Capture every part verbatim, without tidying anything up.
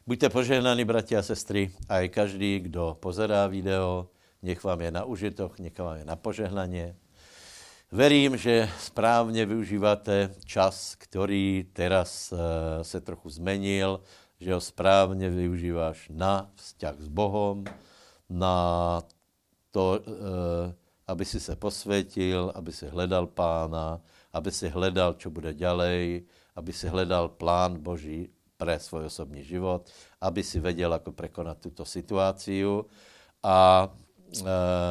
Buďte požehnaní, bratia a sestry, aj každý, kdo pozerá video, nech vám je na užitok, nech vám je na požehnanie. Verím, že správne využívate čas, ktorý teraz uh, sa trochu zmenil, že ho správne využíváš na vzťah s Bohom, na to, uh, aby si sa posvetil, aby si hledal Pána, aby si hledal, čo bude ďalej, aby si hledal plán Boží pre svoj osobný život, aby si vedel, ako prekonať túto situáciu. A e,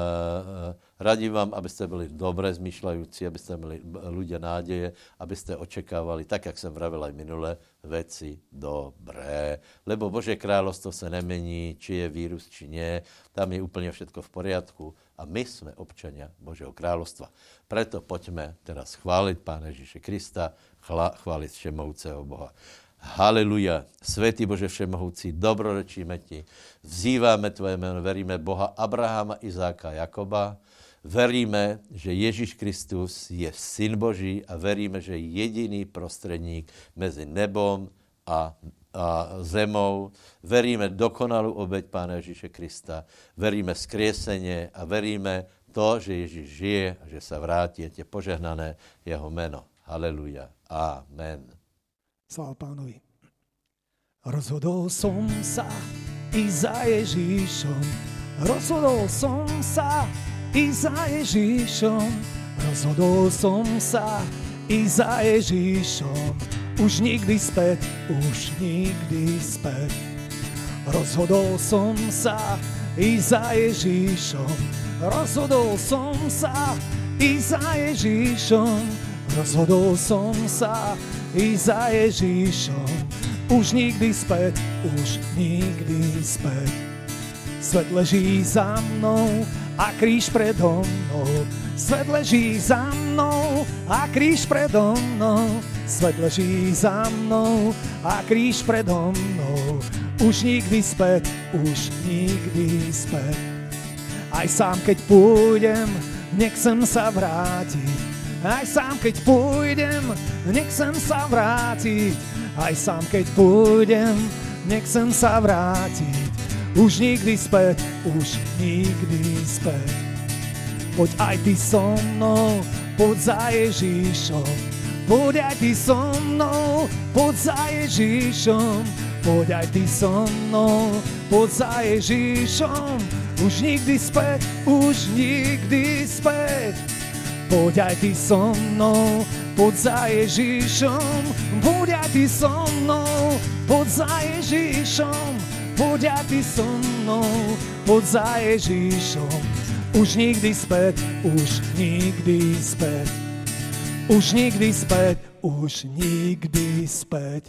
radím vám, aby ste boli dobre zmýšľajúci, aby ste boli ľudia nádeje, aby ste očakávali, tak, jak som vravel aj minule, veci dobré. Lebo Božie kráľovstvo sa nemení, či je vírus, či nie. Tam je úplne všetko v poriadku. A my sme občania Božieho kráľovstva. Preto poďme teraz chváliť Pána Ježíše Krista, chváliť všemohúceho Boha. Haleluja, svätý Bože všemohúci, dobrorečíme ti, vzývame tvoje meno, veríme Boha Abraháma, Izáka a Jakoba, veríme, že Ježíš Kristus je Syn Boží a veríme, že je jediný prostredník medzi nebom a, a zemou. Veríme dokonalú obeť Pána Ježíše Krista, veríme skriesenie a veríme to, že Ježíš žije a že sa vráti, je požehnané jeho meno. Haleluja, amen. Sláva Pánovi. Rozhodol som sa ísť za Ježíšom. Rozhodol som sa ísť za Ježíšom. Rozhodol som sa ísť za Ježíšom. Už nikdy späť, už nikdy späť. Rozhodol som sa ísť za Ježíšom. Rozhodol som sa ísť za Ježíšom. Rozhodol som sa ísť za Ježíšom. Už nikdy späť, už nikdy späť. Svet leží za mnou a kríž predo mnou. Svet leží za mnou a kríž predo mnou. Svet leží za mnou a kríž predo mnou. Už nikdy späť, už nikdy späť. Aj sám keď pôjdem, nechcem sa vrátiť. Aj sám, keď pôjdem, nechcem sa vrátiť. Aj sám, keď pôjdem, nechcem sa vrátiť. Už nikdy späť, už nikdy späť. Poď aj ty so mnou, poď za Ježíšom. Poď aj ty so mnou, poď za Ježíšom. Poď aj ty so mnou, poď za Ježíšom. Už nikdy späť, už nikdy späť. Poď aj ty so mnou, poď za Ježíšom. Poď aj ty so mnou, poď za Ježíšom. Poď aj ty so mnou, poď za Ježíšom. Už nikdy späť, už nikdy späť. Už nikdy späť, už nikdy späť.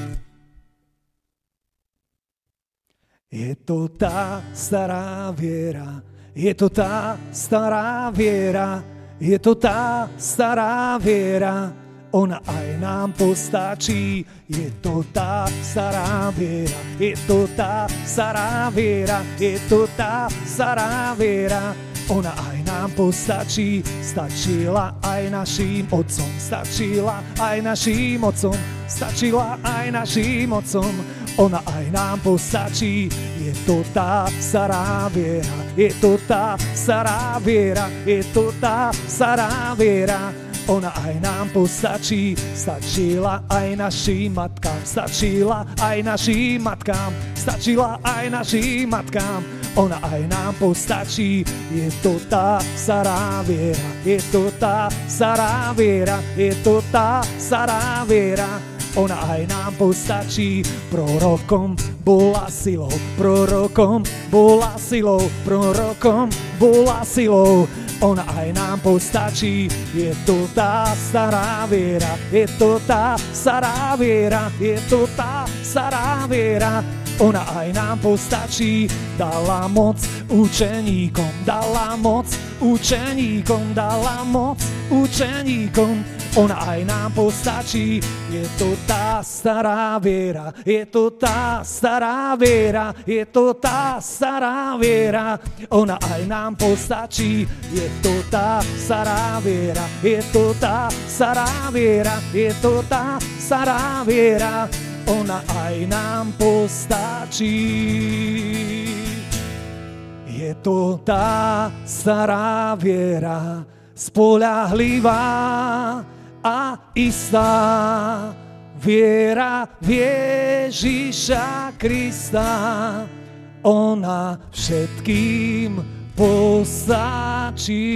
Je to tá stará viera, je to tá stará viera, je to tá stará viera, ona aj nám postačí. Je to tá stará viera, je to tá stará viera, je to tá stará viera, ona aj nám postačí. Stačila aj našim otcom, stačila aj našim otcom, stačila aj našim otcom, ona aj nám postačí. Je to tá stará viera, je to tá stará viera, je to tá stará viera, ona aj nám postačí. Stačila aj našim matkám, stačila aj našim matkám, stačila aj našim matkám, ona aj nám postačí. Je to tá stará viera, je to tá stará viera, je to tá stará viera, ona aj nám postačí. Prorokom bola silou, prorokom bola silou, prorokom bola silou, ona aj nám postačí. Je to tá stará viera, je to tá stará viera, je to tá stará viera, ona aj nám postačí. Dala moc učeníkom, dala moc učeníkom, dala moc učeníkom, ona aj nám postačí. Je to tá stará viera, je to tá stará viera, je to tá stará viera, ona aj nám postačí. Je to tá stará viera, je to tá stará viera, je to tá stará viera, ona aj nám postačí. Je to tá stará viera, spoľahlivá a istá, viera v Ježiša Krista, ona všetkým postačí.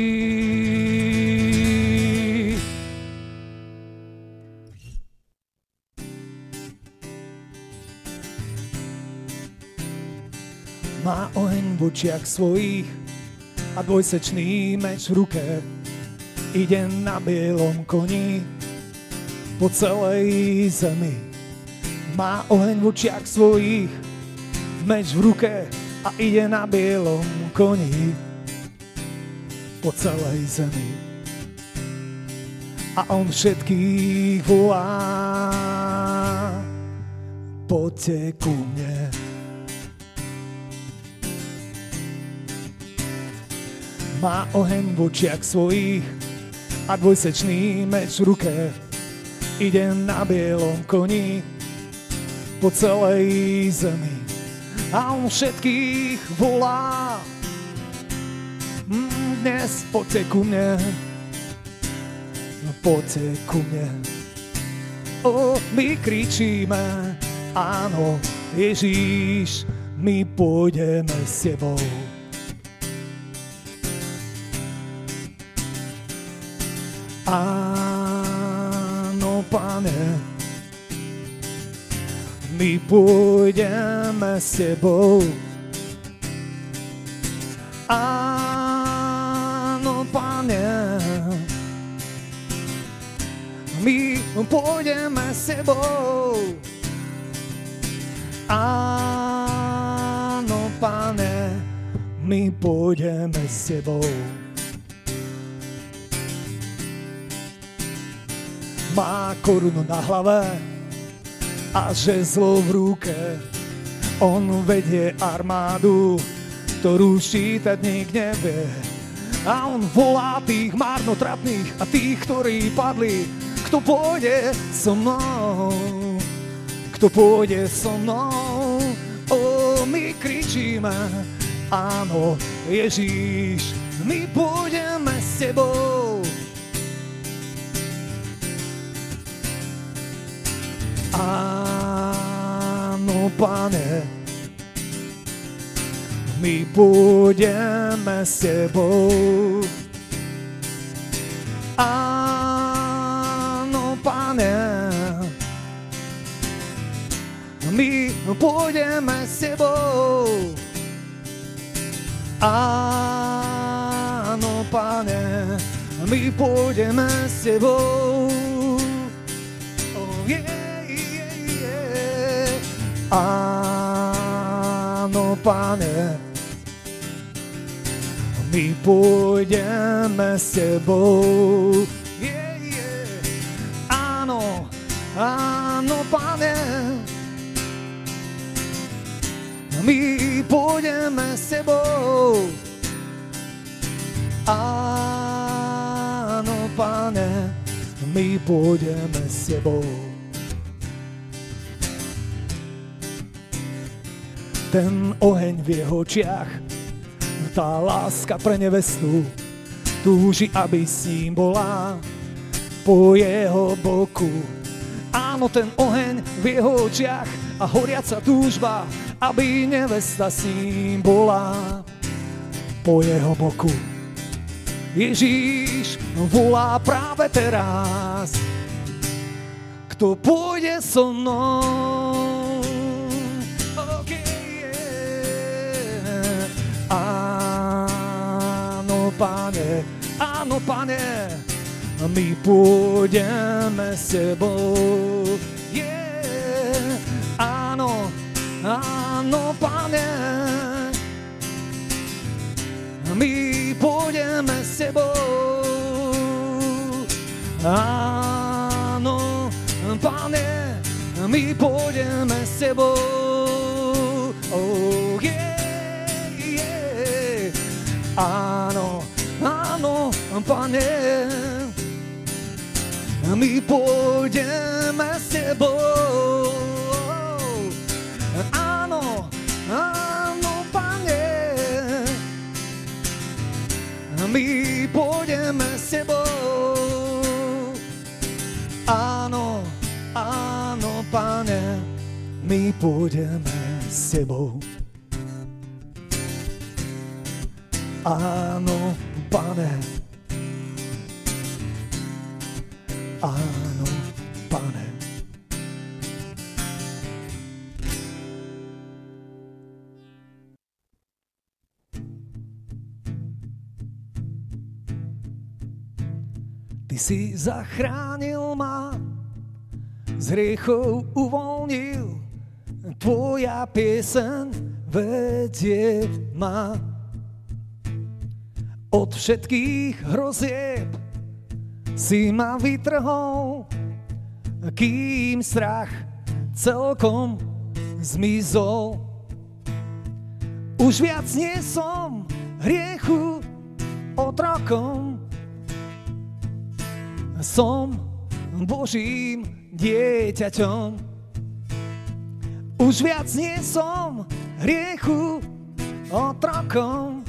Má oheň v očiach svojich a dvojsečný meč v ruke. Ide na bielom koni po celej zemi. Má oheň v očiach svojich, meč v ruke a ide na bielom koni po celej zemi. A on všetkých volá, poďte ku mne. Má oheň v očiach svojich a dvojsečný meč v ruke. Ide na bielom koni po celej zemi. A on všetkých volá, dnes poďte ku mne, poďte ku mne. O, my kričíme, áno, Ježíš, my pôjdeme s tebou. Áno, Pane, my pôjdeme s tebou. Áno, Pane, my pôjdeme s tebou. Áno, Pane, my pôjdeme s tebou. Má korunu na hlave a žezlo v ruke. On vedie armádu, ktorú ščítať nik nevie. A on volá tých marnotratných a tých, ktorí padli. Kto pôjde so mnou? Kto pôjde so mnou? O, my kričíme, áno, Ježíš, my pôjdeme s tebou. Áno, Pane, my pôjdeme s tebou. Áno, Pane, my pôjdeme s tebou. Áno, Pane, my pôjdeme s tebou. Oh, yeah. Áno, Pane, my pôjdeme s tebou. Yeah, yeah. Áno, áno, Pane, my pôjdeme s tebou. Áno, Pane, my pôjdeme s tebou. Ten oheň v jeho očiach, tá láska pre nevestu, túži, aby s ním bola po jeho boku. Áno, ten oheň v jeho očiach a horiaca túžba, aby nevesta s ním bola po jeho boku. Ježíš volá práve teraz, kto pôjde so mnou. Áno, Pane, áno, Pane, my pôjdeme s tebou. Yeah. Áno, áno, Pane, my pôjdeme s tebou. Áno, Pane, my pôjdeme s tebou. Oh, yeah. Áno, áno, Pane, my pôjdeme s tebou. my pôjdeme s tebou. Áno, Pane. Áno, Pane. Ty si zachránil ma, z hriechov uvoľnil, tvoja pieseň vedie ma. Od všetkých hrozieb si ma vytrhol, kým strach celkom zmizol. Už viac nie som hriechu otrokom, som Božím dieťaťom. Už viac nie som hriechu otrokom,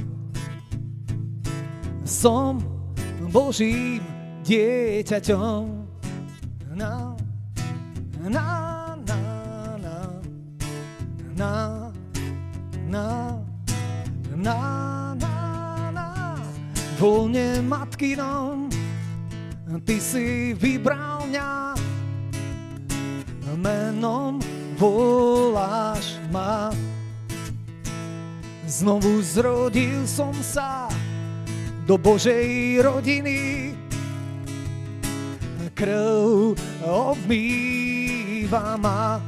som Božím dieťaťom. Na, na, na, na, na, na, na, na, na, voľne matkinom, ty si vybral mňa, menom voláš ma. Znovu zrodil som sa do Božej rodiny, krv obmýva ma.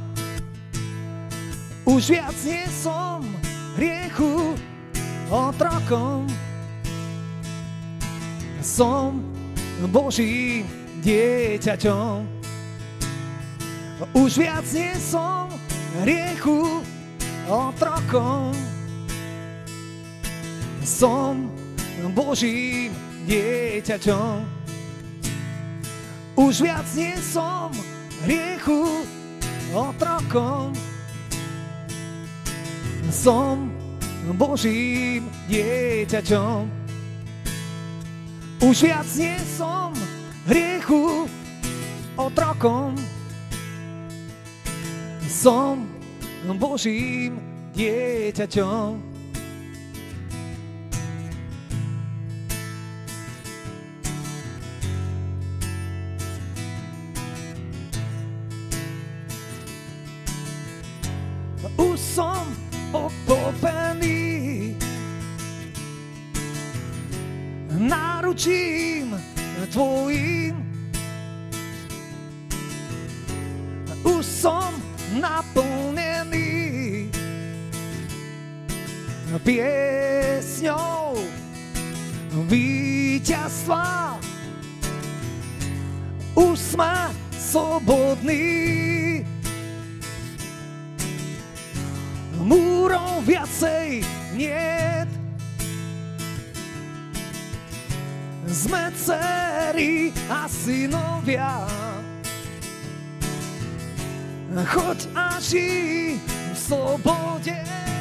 Už viac nie som hriechu otrokom, som Božím dieťaťom. Už viac nie som hriechu otrokom, som Božím dieťaťom. Už viac nie som hriechu otrokom, som Božím dieťaťom. Už viac nie som hriechu otrokom, som Božím dieťaťom. Už som pokopený náručím tvojím. Už som naplnený piesňou víťazstva. Už sme slobodní, múrov viacej niet. Sme dcery a synovia, choď a žij v slobode.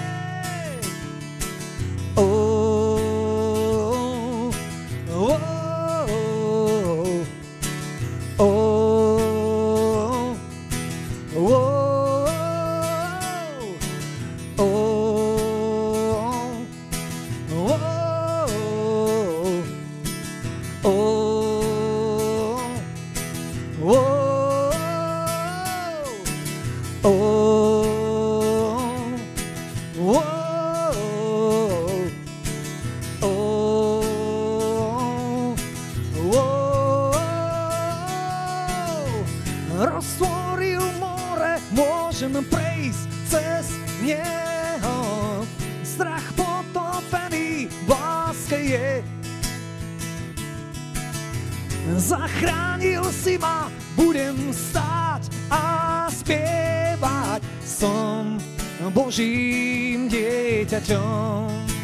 Oh, oh, oh, oh, oh. Roztvoril more, môžem prejsť cez neho. Strach potopený v láske je. Zachránil si ma, budem stáť a spievať. Som Božím dieťaťom.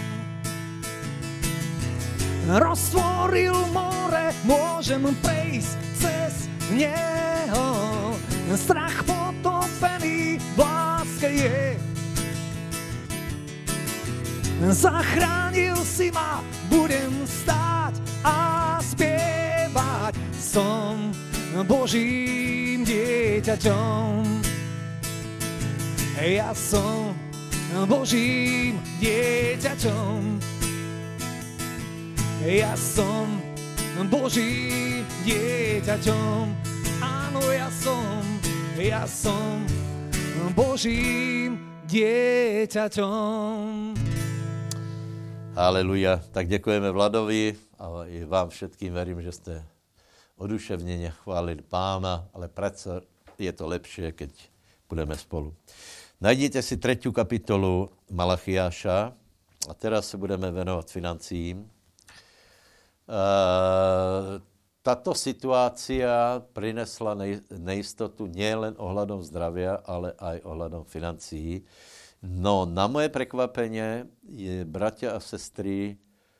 Roztvoril more, môžem prejsť cez neho. Strach potopený v láske je. Zachránil si ma, budem stáť a spievať. Som Božím dieťaťom. Ja som Božím dieťaťom. Ja som Božím dieťaťom. Áno, ja som, ja som Božím dieťaťom. Haleluja. Tak děkujeme Vladovi a i vám všetkým verím, že ste oduševnene chválili Pána, ale predsa je to lepšie, keď budeme spolu. Najdete si tretiu kapitolu Malachiáša a teraz se budeme venovat financím. E, tato situácia prinesla nej, nejistotu nielen ohľadom zdravia, ale aj ohľadom financií. No na moje prekvapenie je, bratia a sestry,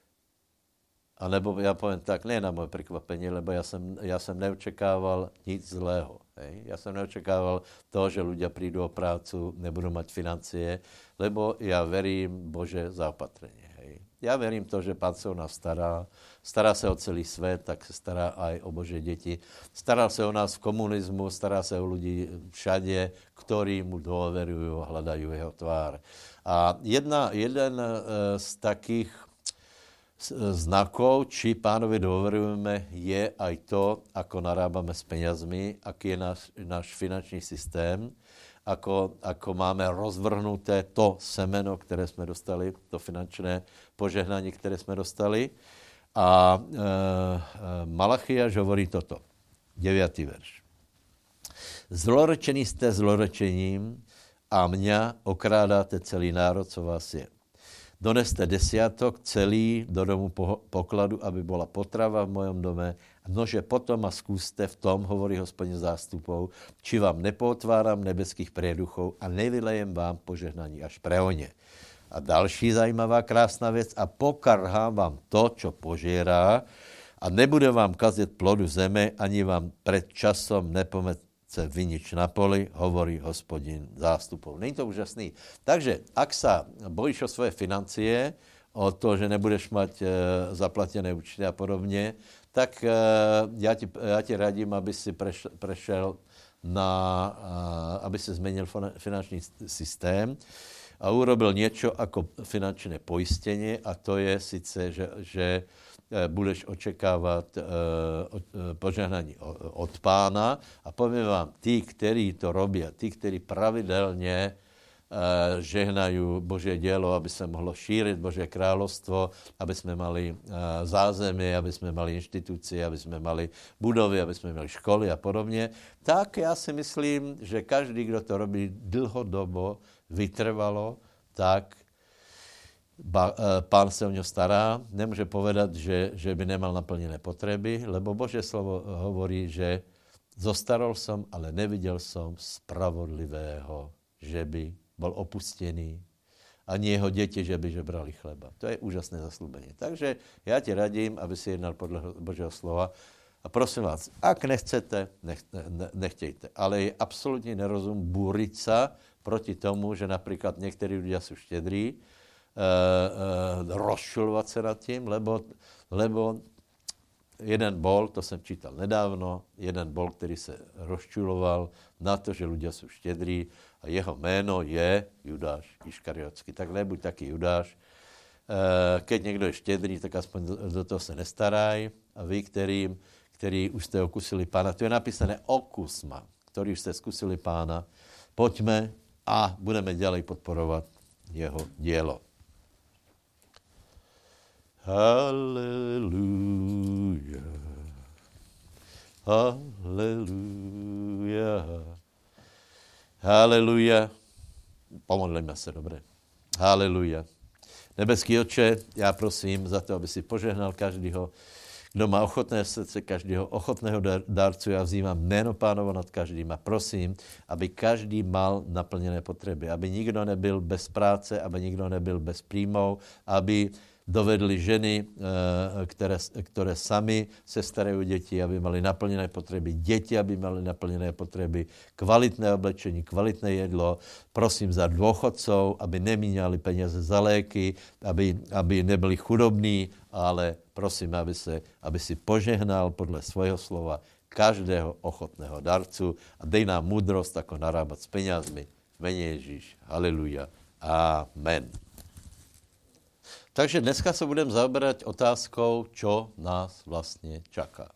anebo ja poviem tak, ne na moje prekvapenie, lebo ja som, ja som neočekával nic zlého. Hej. Ja som neočekával to, že ľudia prídu o prácu, nebudú mať financie, lebo ja verím Bože zaopatrenie. Hej. Ja verím to, že Pán sa o nás stará, stará sa o celý svet, tak sa stará aj o Božie deti. Stará sa o nás v komunizmu, stará sa o ľudí všade, ktorí mu dôverujú a hľadajú jeho tvár. A jedna, jeden z takých znakov, či Pánovi dôverujeme, je aj to, ako narábame s peniazmi, aký je náš, náš finančný systém, ako, ako máme rozvrhnuté to semeno, ktoré sme dostali, to finančné požehnanie, ktoré sme dostali. A e, Malachiáš hovorí toto, deviatý verš. Zlorečení ste zlorečením a mňa okrádáte celý národ, co vás je. Doneste desiatok celý do domu pokladu, aby bola potrava v mojom dome. Nože potom ma skúste v tom, hovorí Hospodin zástupov, či vám nepotváram nebeských prieduchov a nevylejem vám požehnaní až pre oně. A další zajímavá krásná věc, a pokarhám vám to, čo požierá, a nebude vám kazit plodu zeme, ani vám pred časom nepomece vinič na poli, hovorí Hospodin zástupov. Není to úžasný? Takže, ak sa bojíš o svoje financie, o to, že nebudeš mať e, zaplatené účty a podobne, tak e, ja, ti, ja ti radím, aby si preš, prešel na, a, aby si zmenil finančný systém a urobil niečo ako finančné poistenie, a to je sice, že, že budeš očekávať uh, požehnání od Pána. A poviem vám, tí, ktorí to robia, tí, ktorí pravidelne uh, žehnajú Božie dielo, aby sa mohlo šíriť Božie kráľovstvo, aby sme mali uh, zázemie, aby sme mali inštitúcie, aby sme mali budovy, aby sme mali školy a podobne, tak ja si myslím, že každý, kdo to robí dlhodobo, vytrvalo, tak Ba, Pán sa o ňo stará, nemôže povedať, že, že by nemal naplnené potreby, lebo Božie slovo hovorí, že zostarol som, ale nevidel som spravodlivého, že by bol opustený, ani jeho deti, že by žebrali chleba. To je úžasné zasľúbenie. Takže ja ti radím, aby si jednal podľa Božieho slova. A prosím vás, ak nechcete, nech, ne, nechtejte. Ale je absolútne nerozum búriť sa proti tomu, že napríklad niektorí ľudia sú štedrí, Uh, uh, rozčulovať sa nad tým, lebo, lebo jeden bol, to som čítal nedávno, jeden bol, ktorý sa rozčuloval na to, že ľudia sú štedrí a jeho meno je Judáš Iškariotský. Tak nebuď taký Judáš. Uh, keď niekto je štedrý, tak aspoň do, do toho sa nestaraj. A vy, ktorým, ktorí už ste okusili Pána, tu je napísané okus ma, ktorí už ste skúsili Pána, poďme a budeme ďalej podporovať jeho dielo. Halleluja, halleluja, halleluja. Pomodlíme sa, dobre. Halleluja. Nebeský Otče, ja prosím za to, aby si požehnal každého, kdo má ochotné srdce, každého ochotného dárcu. Ja vzývam jméno Pánovo nad každým a prosím, aby každý mal naplnené potreby, aby nikdo nebyl bez práce, aby nikdo nebyl bez príjmov, aby dovedli ženy, ktoré, ktoré sami se starajú deti, aby mali naplnené potreby, deti, aby mali naplnené potreby, kvalitné oblečení, kvalitné jedlo. Prosím za dôchodcov, aby nemíňali peniaze za léky, aby, aby nebyli chudobní, ale prosím, aby, se, aby si požehnal podľa svojho slova každého ochotného darcu a dej nám múdrosť, ako narábať s peniazmi v mene Ježíš. Haleluja. Amen. Takže dneska se budeme zaoberať otázkou, čo nás vlastně čaká.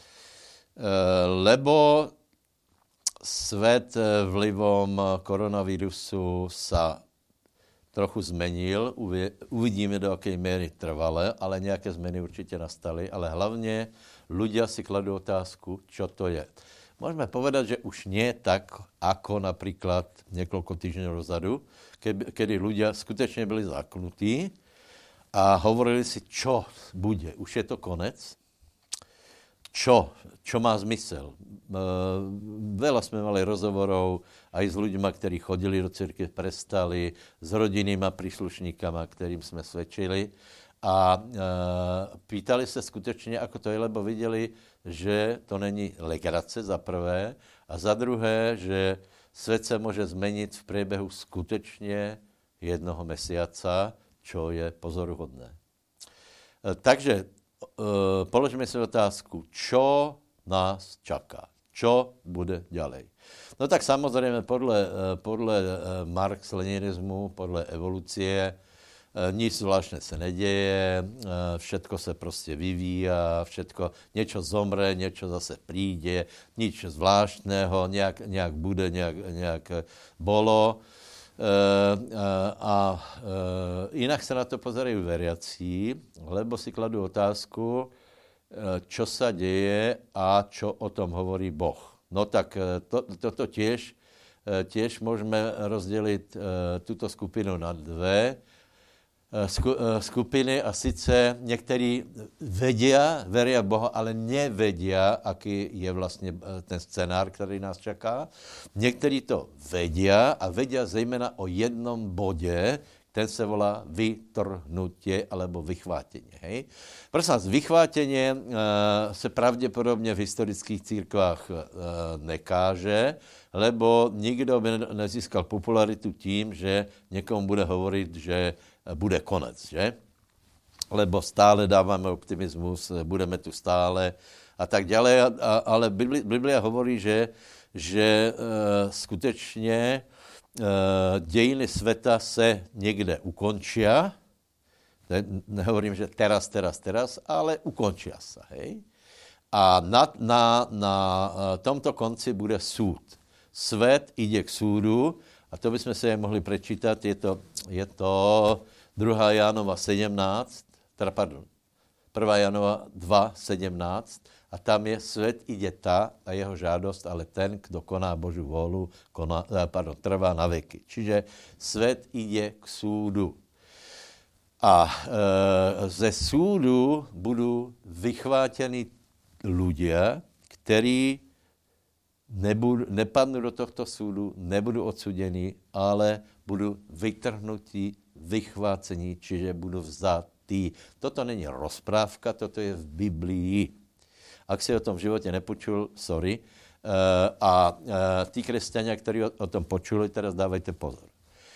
Lebo svet vlivom koronavírusu sa trochu zmenil, uvidíme, do akej miery trvale, ale nějaké zmeny určitě nastaly, ale hlavně ľudia si kladú otázku, čo to je. Môžeme povedať, že už nie tak, ako napríklad niekoľko týždňov dozadu, kedy ľudia skutečne byli zaknutí a hovorili si, čo bude. Už je to konec? Čo? Čo má zmysel? Veľa sme mali rozhovorov aj s ľuďmi, ktorí chodili do cirkvi, prestali, s rodinnýma príslušníkama, ktorým sme svedčili. A e, pýtali se skutečně, ako to je, lebo viděli, že to není legrace za prvé a za druhé, že svět se může změnit v průběhu skutečně jednoho mesiaca, čo je pozoruhodné. E, takže e, položme si otázku, čo nás čaká, čo bude ďalej. No tak samozřejmě podle, podle marx-leninismu, podle evolucie, nic zvláštne se neděje, všetko se prostě vyvíja, všetko, niečo zomre, niečo zase príde, nič zvláštného, nějak, nějak bude, nějak, nějak bolo. A jinak se na to pozerají veriací, lebo si kladú otázku, čo sa deje a čo o tom hovorí Boh. No tak to, toto tiež, tiež môžeme rozdeliť túto skupinu na dve skupiny a sice někteří vedia, veria Boha, ale nevedia, aký je vlastně ten scénár, který nás čaká. Někteří to vedia a vedia zejména o jednom bodě, ten se volá vytrhnutie alebo vychvátenie. Hej? Prosím vás, vychvátenie uh, se pravděpodobně v historických církvách uh, nekáže, lebo nikdo by nezískal popularitu tím, že někomu bude hovorit, že bude konec, že? Lebo stále dáváme optimismus, budeme tu stále a tak ďalej, a, a, ale Biblia, Biblia hovorí, že, že uh, skutečně uh, dějiny světa se někde ukončia, ne, nehovorím, že teraz, teraz, teraz, ale ukončia sa, hej? A na, na, na tomto konci bude súd. Svet ide k súdu, a to bychom si mohli prečítať, je to, je to druhá Jánova sedemnásť, teda pardon, prvá Jánova dva sedemnásť, a tam je, svet ide tá a jeho žádost, ale ten, kdo koná Božiu vôľu, koná, pardon, trvá na veky. Čiže svet ide k súdu. A e, ze súdu budú vychvátení ľudia, ktorí Nebudu, nepadnu do tohto súdu, nebudu odsudení, ale budu vytrhnutí, vychvácení, čiže budu vzatý. Toto není rozprávka, toto je v Biblii. Ak si o tom v životě nepočul, sorry. A tí kresťania, ktorí o tom počuli, teraz dávajte pozor.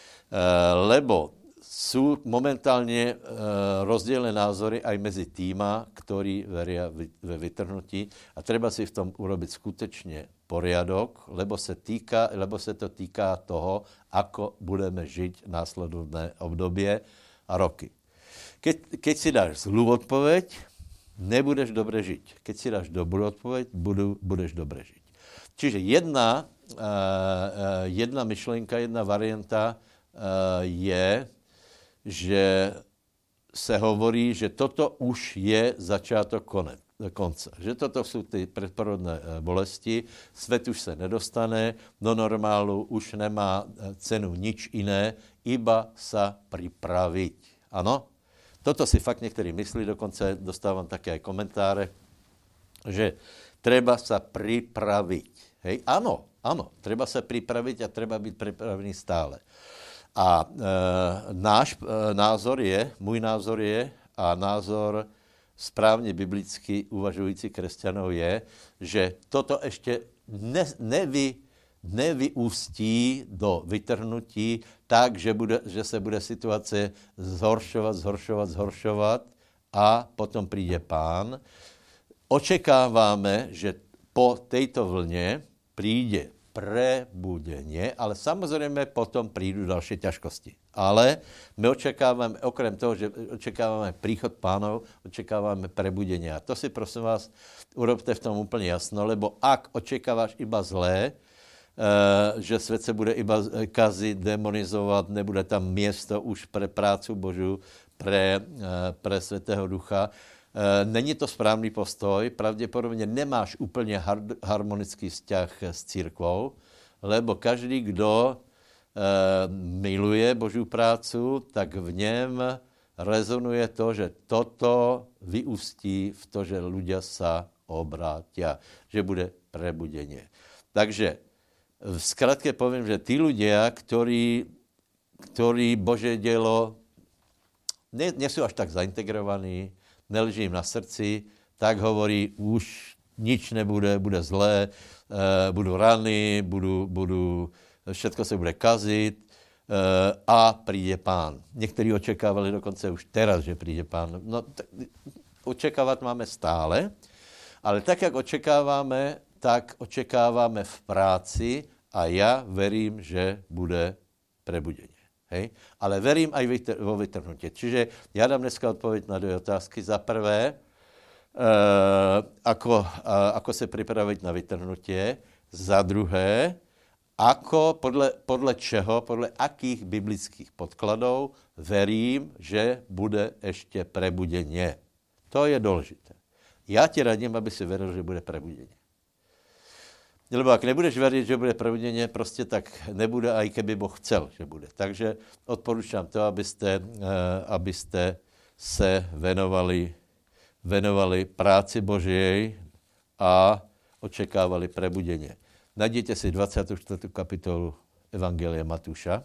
Lebo sú momentálne rozdielne názory aj medzi týma, ktorí veria ve vytrhnutí, a treba si v tom urobiť skutečne poriadok, lebo se, týka, lebo se to týká toho, ako budeme žiť následovné obdobie a roky. Keď, keď si dáš zlú odpoveď, nebudeš dobre žiť. Keď si dáš dobrú odpoveď, budu, budeš dobre žiť. Čiže jedna, uh, jedna myšlenka, jedna varianta uh, je, že se hovorí, že toto už je začátok konec. konce. Že toto jsou ty predporodné bolesti, svět už se nedostane, do normálu už nemá cenu nič iné, iba sa pripraviť. Ano? Toto si fakt někteří myslí, dokonce dostávám také komentáře, že treba sa pripraviť. Hej? Ano, ano, treba sa pripraviť a treba být pripravený stále. A e, náš e, názor je, můj názor je a názor správně biblicky uvažující křesťanů je, že toto ještě ne, nevy, nevyústí do vytrhnutí tak, že, bude, že se bude situace zhoršovat, zhoršovat, zhoršovat a potom přijde Pán. Očekáváme, že po této vlně přijde prebudenie, ale samozrejme potom prídu ďalšie ťažkosti. Ale my očakávame, okrem toho, že očakávame príchod Pánov, očakávame prebudenie. A to si prosím vás urobte v tom úplne jasno, lebo ak očakávaš iba zlé, že svet se bude iba kazit, demonizovat, nebude tam město už pre prácu Božu, pre, pre Svätého Ducha. Není to správný postoj, pravděpodobně nemáš úplně harmonický vzťah s církvou, lebo každý, kdo miluje Božú prácu, tak v něm rezonuje to, že toto vyústí v to, že ľudia sa obrátia, že bude prebudenie. Takže v skratke poviem, že tí ľudia, ktorí, ktorí Božie dielo nie, nie sú až tak zaintegrovaní, neleží im na srdci, tak hovorí, už nič nebude, bude zlé, e, budú rany, budú, budú, všetko sa bude kazit e, a príde Pán. Niektorí očakávali dokonce už teraz, že príde Pán. No, t- očakávať máme stále, ale tak, jak očakávame, tak očekávame v práci a ja verím, že bude prebudenie. Hej? Ale verím aj vo vytrhnutie. Čiže ja dám dneska odpoveď na dvě otázky. Za prvé, e, ako, a, ako se pripraviť na vytrhnutie. Za druhé, ako, podle, podle čeho, podle akých biblických podkladov verím, že bude ešte prebudenie. To je dôležité. Ja ti radím, aby si veril, že bude prebudenie. Lebo ak nebudeš veriť, že bude prebudenie, prostě tak nebude, aj keby Boh chcel, že bude. Takže odporúčam to, abyste, abyste se venovali, venovali práci Božej a očekávali prebudenie. Najděte si dvacátou čtvrtou kapitolu Evangelia Matúša.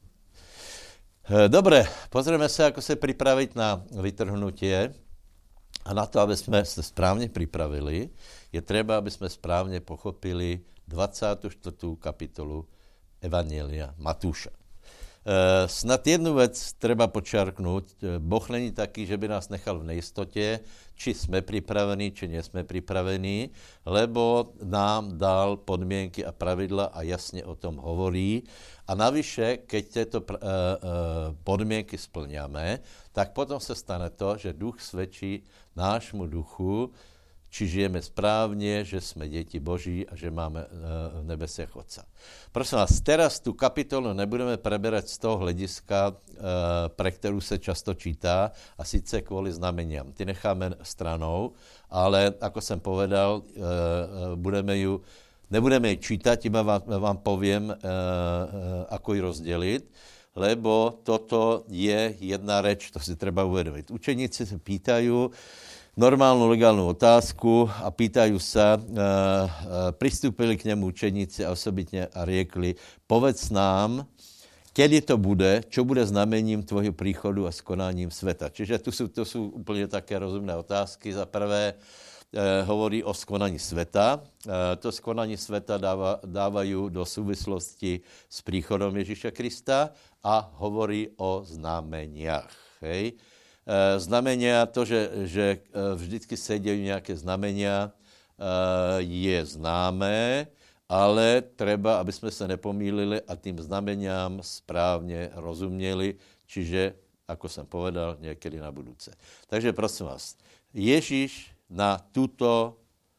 Dobre, pozrieme sa, ako sa pripraviť na vytrhnutie. A na to, aby sme sa správne pripravili, je treba, aby sme správne pochopili dvacátou štvrtou kapitolu Evangelia Matúša. E, snad jednu vec treba počiarknúť. Boh není taký, že by nás nechal v nejistote, či sme pripravení, či nie sme pripravení, lebo nám dal podmienky a pravidla a jasne o tom hovorí. A navyše, keď tieto uh, uh, podmienky splňame, tak potom sa stane to, že duch svedčí nášmu duchu, či žijeme správne, že sme deti Boží a že máme uh, v nebesiach Otca. Prosím vás, teraz tú kapitolu nebudeme preberať z toho hľadiska, uh, pre ktorú sa často čítá, a síce kvôli znameniam. Ty necháme stranou, ale ako som povedal, uh, uh, budeme ju Nebudeme ji čítať, iba vám, vám poviem, e, e, ako ji rozdeliť, lebo toto je jedna reč, to si treba uvedomiť. Učeníci sa pýtajú normálnu legálnu otázku a pýtajú sa, e, e, pristúpili k nemu učeníci a osobitne a riekli, povedz nám, kedy to bude, čo bude znamením tvojho príchodu a skonáním sveta. Čiže tu sú, to sú úplne také rozumné otázky. Za prvé, Eh, hovorí o skonaní sveta. Eh, to skonanie sveta dáva, dávajú do súvislosti s príchodom Ježíša Krista a hovorí o znameniach. Hej. Eh, znamenia, to, že, že vždycky sedia nejaké znamenia, eh, je známé, ale treba, aby sme sa nepomýlili a tým znameniam správne rozumieli, čiže, ako som povedal, niekedy na budúce. Takže prosím vás, Ježíš na túto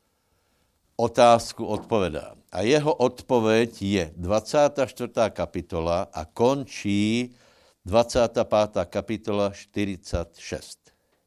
otázku odpovedá. A jeho odpoveď je dvacátá štvrtá kapitola a končí dvacátá pátá kapitola štyridsaťšesť.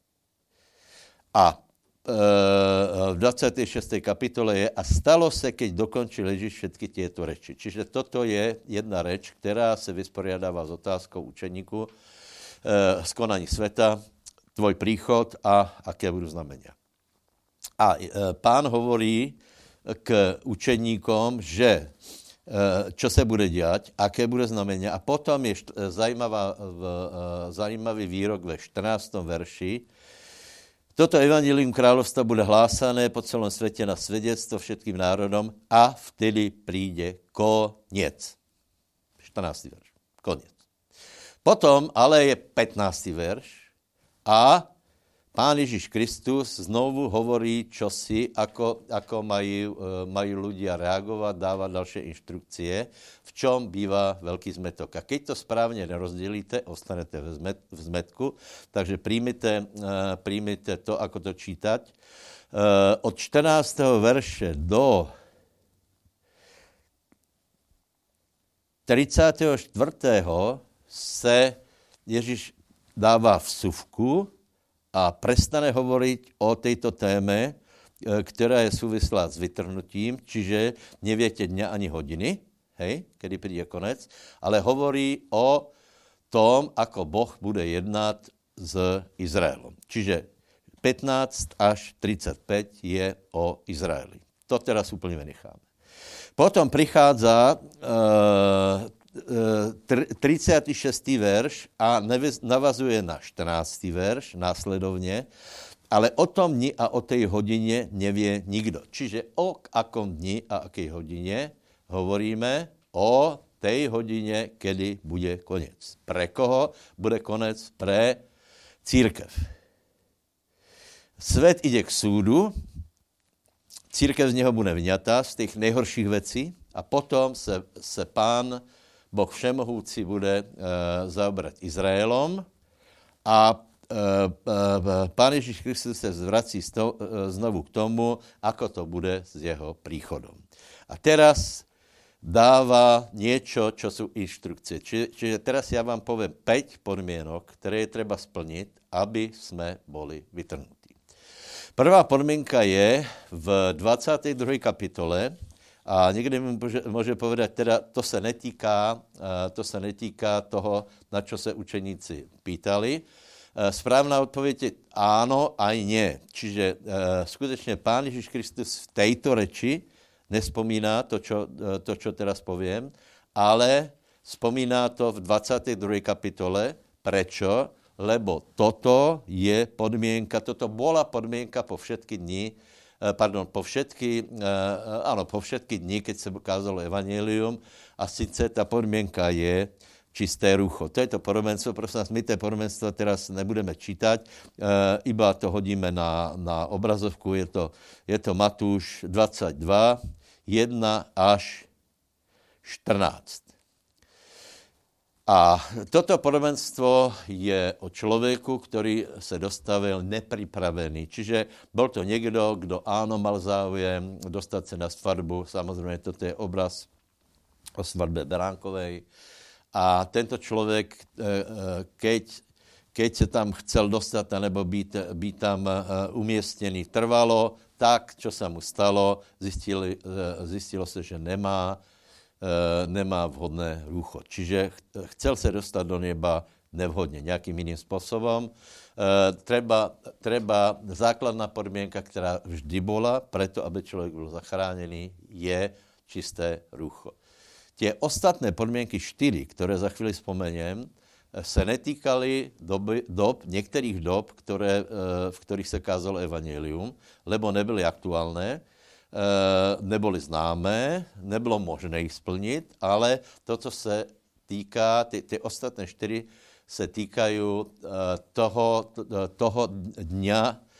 A e, v dvacáté šiestej kapitole je a stalo se, keď dokončil Ježíš všetky tieto reči. Čiže toto je jedna reč, ktorá sa vysporiadáva s otázkou učeníku e, skonaní sveta, tvoj príchod a aké budú znamenia. A Pán hovorí k učeníkom, že čo sa bude diať, aké bude znamenia. A potom je zajímavá, zajímavý výrok ve štrnástom verši. Toto evangelium kráľovstva bude hlásané po celom svete na svedectvo všetkým národom a vtedy príde koniec. štrnásty verš. Koniec. Potom ale je pätnásty verš a Pán Ježiš Kristus znovu hovorí čosi, ako, ako majú, majú ľudia reagovať, dávať ďalšie inštrukcie, v čom býva veľký zmetok. A keď to správne nerozdelíte, ostanete v, zmet, v zmetku, takže príjmite, príjmite to, ako to čítať. Od štrnásteho verše do tridsiateho štvrtého se Ježiš dáva vsuvku a prestane hovoriť o tejto téme, ktorá je súvislá s vytrhnutím, čiže neviete dňa ani hodiny, hej, kedy príde konec, ale hovorí o tom, ako Boh bude jednať s Izraelom. Čiže pätnásť až tridsaťpäť je o Izraeli. To teraz úplne vynecháme. Potom prichádza uh, tridsiaty šiesty verš a navazuje na štrnásty verš následovne, ale o tom dni a o tej hodine nevie nikto. Čiže o akom dni a akej hodine hovoríme o tej hodine, kedy bude koniec. Pre koho bude konec? Pre církev. Svet ide k súdu, církev z neho bude vyňatá, z tých nejhorších vecí a potom se, se pán Boh všemohúci bude e, zaoberať Izraelom a e, e, Pán Ježiš Kristus sa zvrací sto, e, znovu k tomu, ako to bude s jeho príchodom. A teraz dáva niečo, čo sú inštrukcie. Čiže, čiže teraz ja vám poviem päť podmienok, ktoré je treba splniť, aby sme boli vytrhnutí. Prvá podmienka je v dvadsiatej druhej kapitole. A niekde mi môže, môže povedať, teda to sa netýká, to sa netýka toho, na čo sa učeníci pýtali. Správna odpoveď je áno, aj nie. Čiže skutečne Pán Ježiš Kristus v tejto reči nespomína to, čo, to, čo teraz poviem, ale spomína to v dvadsiatej druhej kapitole. Prečo? Lebo toto je podmienka, toto bola podmienka po všetky dni, pardon, po všetky, áno, po všetky dni, keď sa ukázalo evanjelium, a síce tá podmienka je čisté rucho. To je to podobenstvo, prosím nás, my to podobenstvo teraz nebudeme čítať, iba to hodíme na, na obrazovku, je to, je to Matúš dvadsaťdva, jeden až štrnásť. A toto podobenstvo je o človeku, ktorý sa dostavil nepripravený. Čiže bol to niekto, kto áno mal záujem dostať sa na svadbu. Samozrejme, toto je obraz o svadbe beránkovej. A tento človek, keď, keď sa tam chcel dostať, alebo byť, byť tam umiestnený trvalo, tak, čo sa mu stalo, zistilo, zistilo sa, že nemá nemá vhodné rucho. Čiže chcel sa dostať do neba nevhodne, nejakým iným spôsobom. E, treba, treba, základná podmienka, ktorá vždy bola, preto, aby človek bol zachránený, je čisté rucho. Tie ostatné podmienky štyri, ktoré za chvíli spomeniem, sa netýkali doby, dob, niektorých dob, ktoré, e, v ktorých sa kázalo evanjelium, lebo neboli aktuálne, neboli známé, nebylo možné ich splniť, ale to, co se týká, ty, ty ostatné čtyři se týkajú toho, toho dňa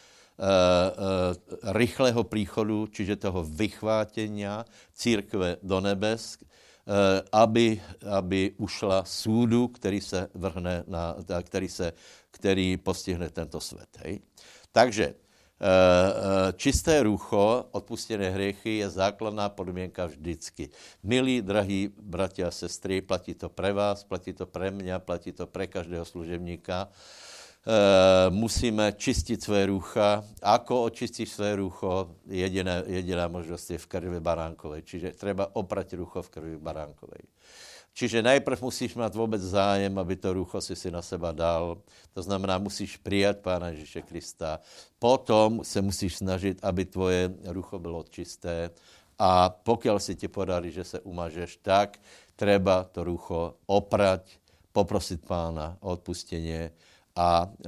rychlého príchodu, čiže toho vychvátenia církve do nebes, aby, aby ušla súdu, který se vrhne na, který, se, který postihne tento svět. Hej? Takže čisté rucho, odpustené hriechy je základná podmienka vždycky. Milí, drahí bratia a sestry, platí to pre vás, platí to pre mňa, platí to pre každého služebníka. Musíme čistiť svoje rucha. Ako očistiť svoje rucho? Jediná, jediná možnosť je v krvi baránkovej. Čiže treba oprať rucho v krvi baránkovej. Čiže najprv musíš mať vôbec zájem, aby to rucho si si na seba dal. To znamená, musíš prijať Pána Ježíše Krista. Potom sa musíš snažiť, aby tvoje rucho bylo čisté. A pokiaľ si ti podarí, že sa umažeš, tak treba to rucho oprať, poprosiť Pána o odpustenie a e, e,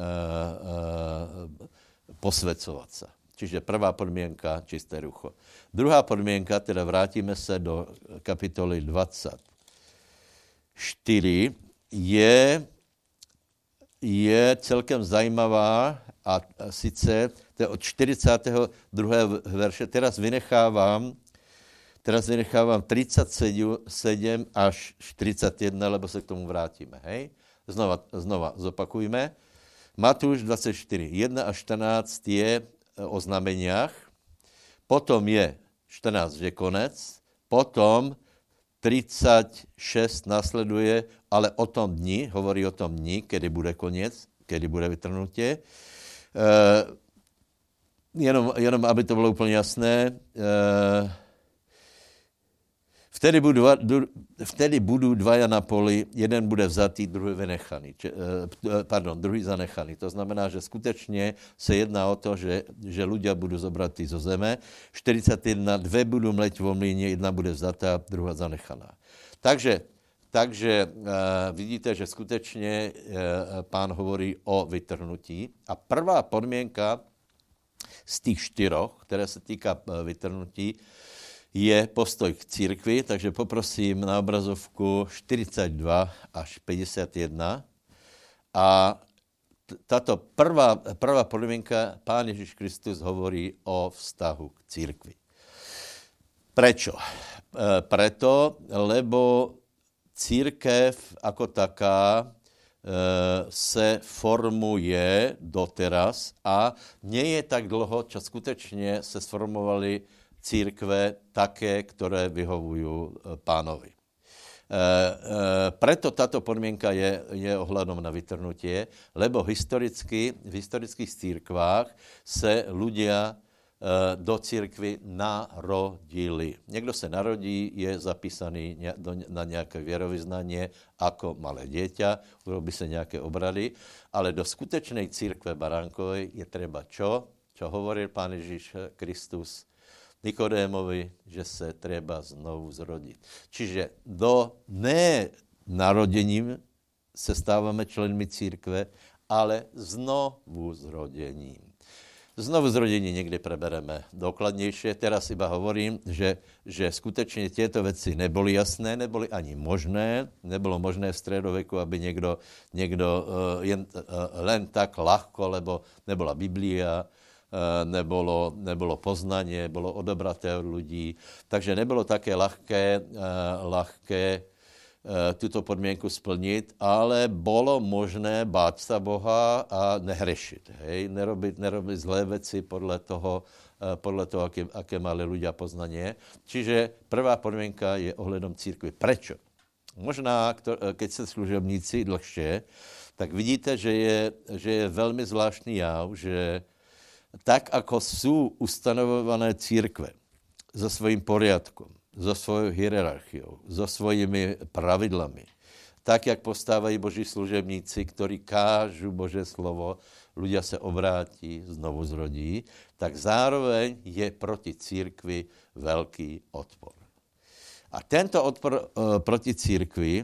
posvedcovať sa. Čiže prvá podmienka, čisté rucho. Druhá podmienka, teda vrátime sa do kapitoly dvadsať. štyri je, je celkem zajímavá A sice, to je od čtyřicátého druhého verše, teraz vynechávám, teraz vynechávám třicet sedm až čtyřicet jedna, lebo se k tomu vrátíme, hej? Znova, znova zopakujme. Matúš dvacet čtyři, jedna až čtrnáct je o znameniach, potom je čtrnáct, že konec, potom třicet šest nasleduje, ale o tom dni, hovorí o tom dni, kedy bude koniec, kedy bude vytrhnutie. Uh, jenom, jenom, aby to bylo úplně jasné, uh, vtedy, budu, vtedy budou dvaja na poli, jeden bude vzatý, druhý vynechaný, či, uh, pardon, druhý zanechaný. To znamená, že skutečně se jedná o to, že, že ľudia budou zobratí zo zeme, čtyřicet jedna, dve budou mleť vo mlíně, jedna bude vzatá, druhá zanechaná. Takže Takže uh, vidíte, že skutečně uh, pán hovorí o vytrhnutí. A prvá podmienka z tých štyroch, které se týká uh, vytrhnutí, je postoj k církvi. Takže poprosím na obrazovku čtyřicet dva až padesát jedna. A t- tato prvá, prvá podmienka, pán Ježíš Kristus hovorí o vztahu k církvi. Prečo? Uh, preto, lebo církev ako taká e, se formuje doteraz a nie je tak dlho, čo skutečne se sformovali církve také, ktoré vyhovujú pánovi. E, e, preto táto podmienka je, je ohľadom na vytrhnutie, lebo historicky, v historických církvách se ľudia do církvy narodili. Někdo se narodí, je zapísaný na nějaké věrovyznanie ako malé dieťa, urobí se nějaké obrady, ale do skutečnej církve baránkovej je treba čo? Čo hovoril pán Ježíš Kristus Nikodémovi, že se treba znovu zrodiť. Čiže do ne narodením se stáváme členmi církve, ale znovu zrodením. Znovu zrodení někdy prebereme dokladnějšie. Teraz iba hovorím, že, že skutečně tieto veci neboli jasné, neboli ani možné. Nebylo možné v stredoveku, aby někdo, někdo uh, jen, uh, len tak ľahko, lebo nebola Biblia, uh, nebolo, nebolo poznanie, bolo odobraté od ľudí. Takže nebylo také ľahké, uh, ľahké tuto podmienku splnit, ale bolo možné báť sa Boha a nehrešiť. Hej? Nerobiť, nerobiť zlé veci podľa toho, podľa toho aké, aké mali ľudia poznanie. Čiže prvá podmienka je ohľadom církvy. Prečo? Možná, keď ste služobníci dlhšie, tak vidíte, že je, že je veľmi zvláštny jav, že tak, ako sú ustanovované církve so svojím poriadkom, so svojou hierarchiou, so svojimi pravidlami. Tak, jak postávají Boží služebníci, ktorí kážu Božie slovo, ľudia se obrátí, znovu zrodí, tak zároveň je proti církvi veľký odpor. A tento odpor e, proti církvi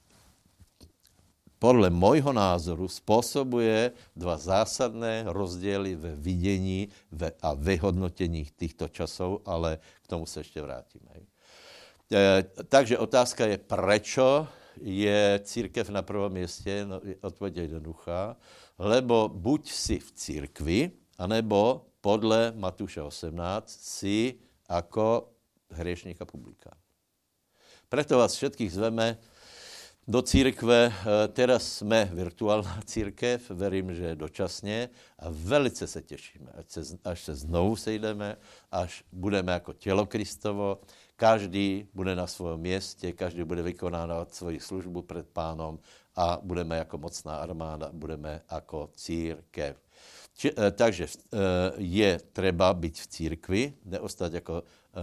podle môjho názoru spôsobuje dva zásadné rozdiely ve videní a vyhodnotení týchto časov, ale k tomu se ešte vrátime. E, takže otázka je, prečo je církev na prvom mieste? No, odpoveď je jednoduchá. Lebo buď si v církvi, anebo podle Matúša osemnásť si ako hriešník a publikán. Preto vás všetkých zveme do církve. Teraz sme virtuálna církev, verím, že dočasne a velice se tešíme, až se, až se znovu sejdeme, až budeme ako telo Kristovo. Každý bude na svojom mieste, každý bude vykonávat svoji službu pred pánom a budeme jako mocná armáda, budeme jako církev. Či, e, takže e, je treba byť v církvi, neostať jako e, e,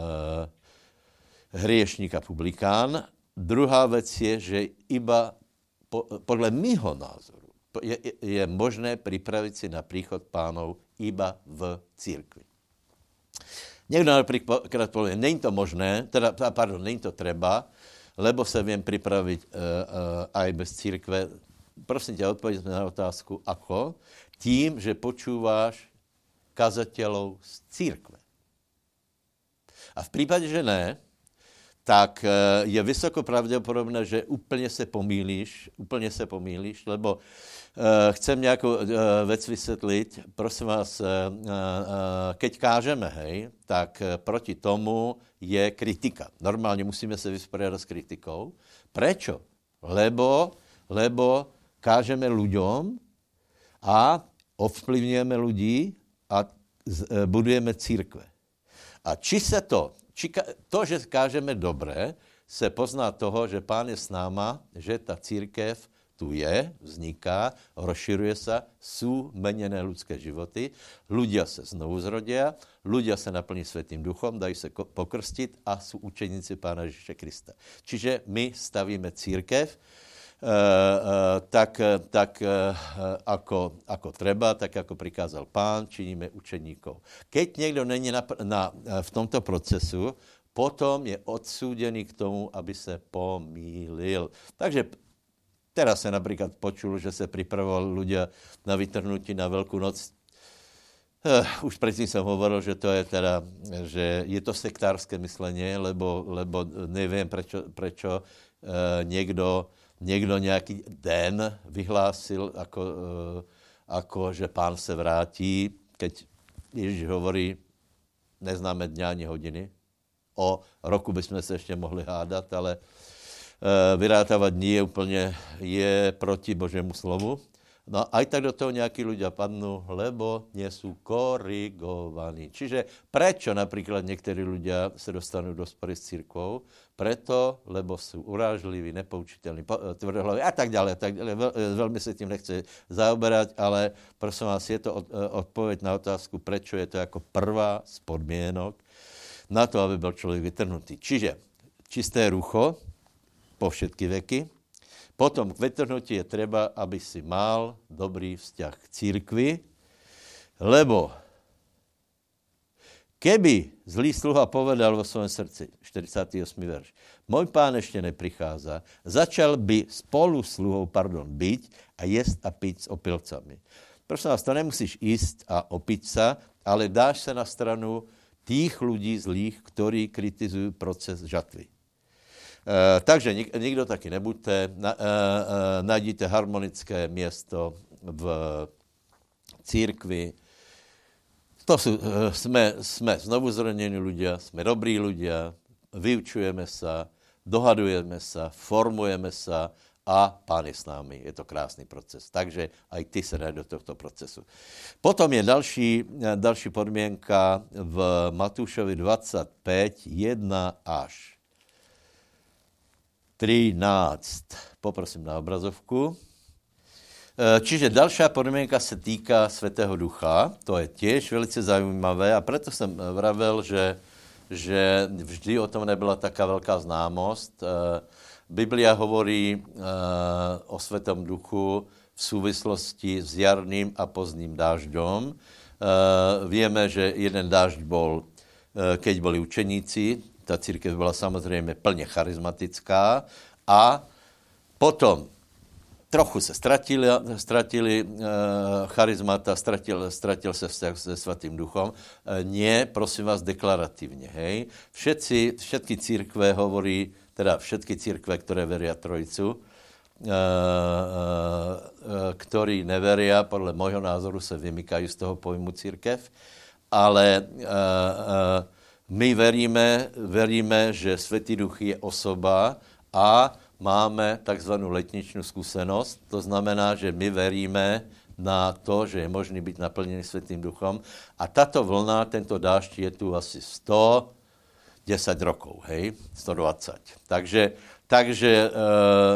hriešník a publikán. Druhá vec je, že iba po, podle mýho názoru je, je možné pripraviť si na príchod pánov iba v církvi. Niekto napríklad povie, není to možné, teda, pardon, není to treba, lebo sa viem pripraviť uh, uh, aj bez církve. Prosím ťa, odpovedz na otázku, ako? Tím, že počúváš kazateľov z církve. A v prípade, že ne, tak je vysoko pravděpodobné, že úplně se pomýlíš, úplně se pomýlíš, lebo uh, chcem nějakou uh, věc vysvětlit. Prosím vás, uh, uh, keď kážeme, hej, tak uh, proti tomu je kritika. Normálně musíme se vysporiadat s kritikou. Prečo? Lebo, lebo kážeme ľuďom a ovplyvňujeme ľudí a z, uh, budujeme církve. A či se to To, že kážeme dobré, se pozná toho, že Pán je s náma, že ta církev tu je, vzniká, rozširuje se, jsou meněné ľudské životy, ľudia se znovu zrodia, ľudia se naplní Svätým Duchom, dají se pokrstit a jsou učeníci Pána Ježíše Krista. Čiže my stavíme církev, Uh, uh, tak, tak uh, ako, ako treba, tak ako prikázal Pán, činíme učeníkov. Keď niekto není na, na, v tomto procesu, potom je odsúdený k tomu, aby se pomýlil. Takže teraz sa napríklad počul, že sa pripravovali ľudia na vytrhnutí na Veľkú noc. Uh, už predtým som hovoril, že to je teda, že je to sektárske myslenie, lebo, lebo neviem, prečo, prečo uh, niekto Někdo nějaký den vyhlásil, ako, ako, že Pán se vrátí, keď Ježíš hovorí, neznáme dňa ani hodiny. O roku bychom se ještě mohli hádat, ale vyrátávat dní je úplně je proti Božému slovu. No aj tak do toho nejakí ľudia padnú, lebo nie sú korigovaní. Čiže prečo napríklad niektorí ľudia sa dostanú do spory s cirkvou? Preto, lebo sú urážliví, nepoučiteľní, tvrdohlaví a tak ďalej. Tak ďalej. Veľmi sa tým nechce zaoberať, ale prosím vás, je to odpoveď na otázku, prečo je to ako prvá z podmienok na to, aby bol človek vytrhnutý. Čiže čisté rucho po všetky veky. Potom k vytrhnutí je treba, aby si mal dobrý vzťah k církvi, lebo keby zlý sluha povedal vo svojom srdci, štyridsiaty ôsmy verš, môj Pán ešte neprichádza, začal by spolu sluhou, pardon, byť a jesť a piť s opilcami. Prosím vás, to nemusíš ísť a opiť sa, ale dáš sa na stranu tých ľudí zlých, ktorí kritizujú proces žatvy. Uh, takže nik, nikdo taky nebuďte, na, uh, uh, najdíte harmonické město v církvi. To sú, uh, sme, sme znovu zrodení ľudia, sme dobrí ľudia, vyučujeme sa, dohadujeme sa, formujeme sa a Pán je s námi. Je to krásný proces. Takže aj ty sa daj do tohto procesu. Potom je další, další podmienka v Matúšovi dvadsaťpäť, jedna až trináct. Poprosím na obrazovku. Čiže dalšia podmienka sa týka Svätého Ducha. To je tiež velice zaujímavé a preto som vravel, že, že vždy o tom nebyla taká veľká známosť. Biblia hovorí o Svätom Duchu v súvislosti s jarným a pozdním dážďom. Vieme, že jeden dážď bol, keď boli učeníci. Ta církev byla samozřejmě plně charizmatická a potom trochu se ztratili, ztratili uh, charizmata, ztratil, ztratil se vzťah se Svatým Duchom. Uh, nie, prosím vás, deklarativně, hej. Všetci, všetky církve hovorí, teda všetky církve, které veria Trojicu, uh, uh, ktorí neveria, podle môjho názoru se vymykají z toho pojmu církev, ale uh, uh, my veríme, veríme, že Svätý Duch je osoba a máme takzvanou letničnú skúsenosť. To znamená, že my veríme na to, že je možný byť naplnený Svätým Duchom. A táto vlna, tento dážď je tu asi sto desať rokov, hej? sto dvadsať. Takže, takže e, e,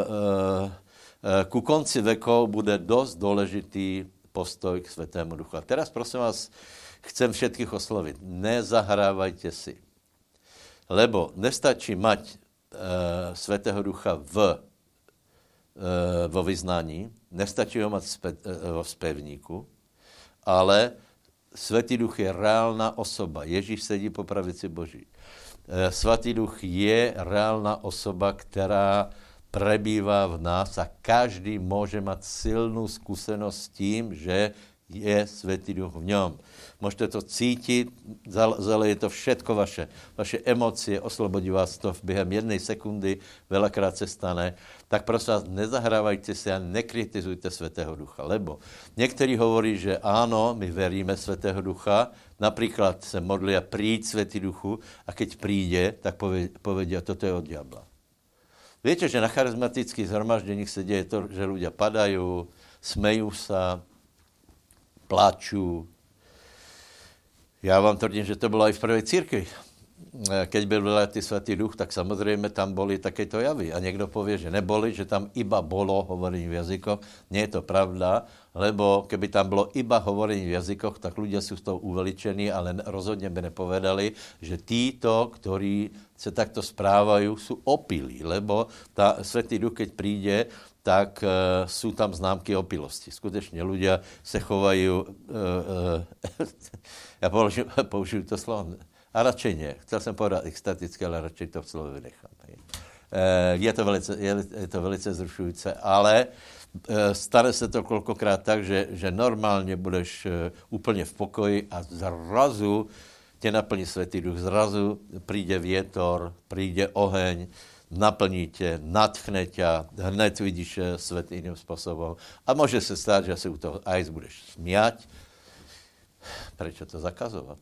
ku konci vekov bude dosť dôležitý postoj k Svätému Duchu. A teraz prosím vás, chcem všetkých osloviť. Nezahrávajte si. Lebo nestačí mať e, Svätého Ducha v, e, vo vyznání, nestačí ho mať spe, e, vo spevníku, ale Svätý Duch je reálna osoba. Ježíš sedí po pravici Boží. E, Svätý Duch je reálna osoba, která prebývá v nás a každý môže mať silnú skúsenosť s tím, že je Svätý Duch v ňom. Môžete to cítiť, zaleje to všetko vaše, vaše emócie, oslobodí vás to během jednej sekundy, veľakrát se stane. Tak prosím vás, nezahrávajte si a nekritizujte Svätého Ducha, lebo niektorí hovorí, že áno, my veríme Svätého Ducha, napríklad se modlia príď Svätý Duchu a keď príde, tak povedia, toto je od diabla. Viete, že na charizmatických zhromaždeních se deje to, že ľudia padajú, smejú sa, plačú. Já vám tvrdím, že to bylo i v prvej církvi. Keď byl vyletý Svätý Duch, tak samozřejmě tam boli takéto javy. A někdo povie, že neboli, že tam iba bolo hovorení v jazykoch. Nie je to pravda, lebo keby tam bylo iba hovorení v jazykoch, tak ľudia sú z toho uveličení, ale rozhodně by nepovedali, že títo, ktorí se takto správajú, sú opilí, lebo tá Svätý Duch, keď príde, tak uh, sú tam známky opilosti. Skutečne ľudia se chovajú, uh, uh, ja použiju, použiju to slovo, a radšej nie. Chcel jsem povedat extaticky, ale radšej to v slovo vynechám. Uh, je, to velice, je, je to velice zrušující, ale uh, stane se to kolikrát tak, že, že normálně budeš uh, úplně v pokoji a zrazu tě naplní Svätý Duch, zrazu príde vietor, príde oheň, naplní tě, nadchne tě, hned vidíš svět jiným způsobem. A může se stát, že se u toho aj budeš smiať. Prečo to zakazovat?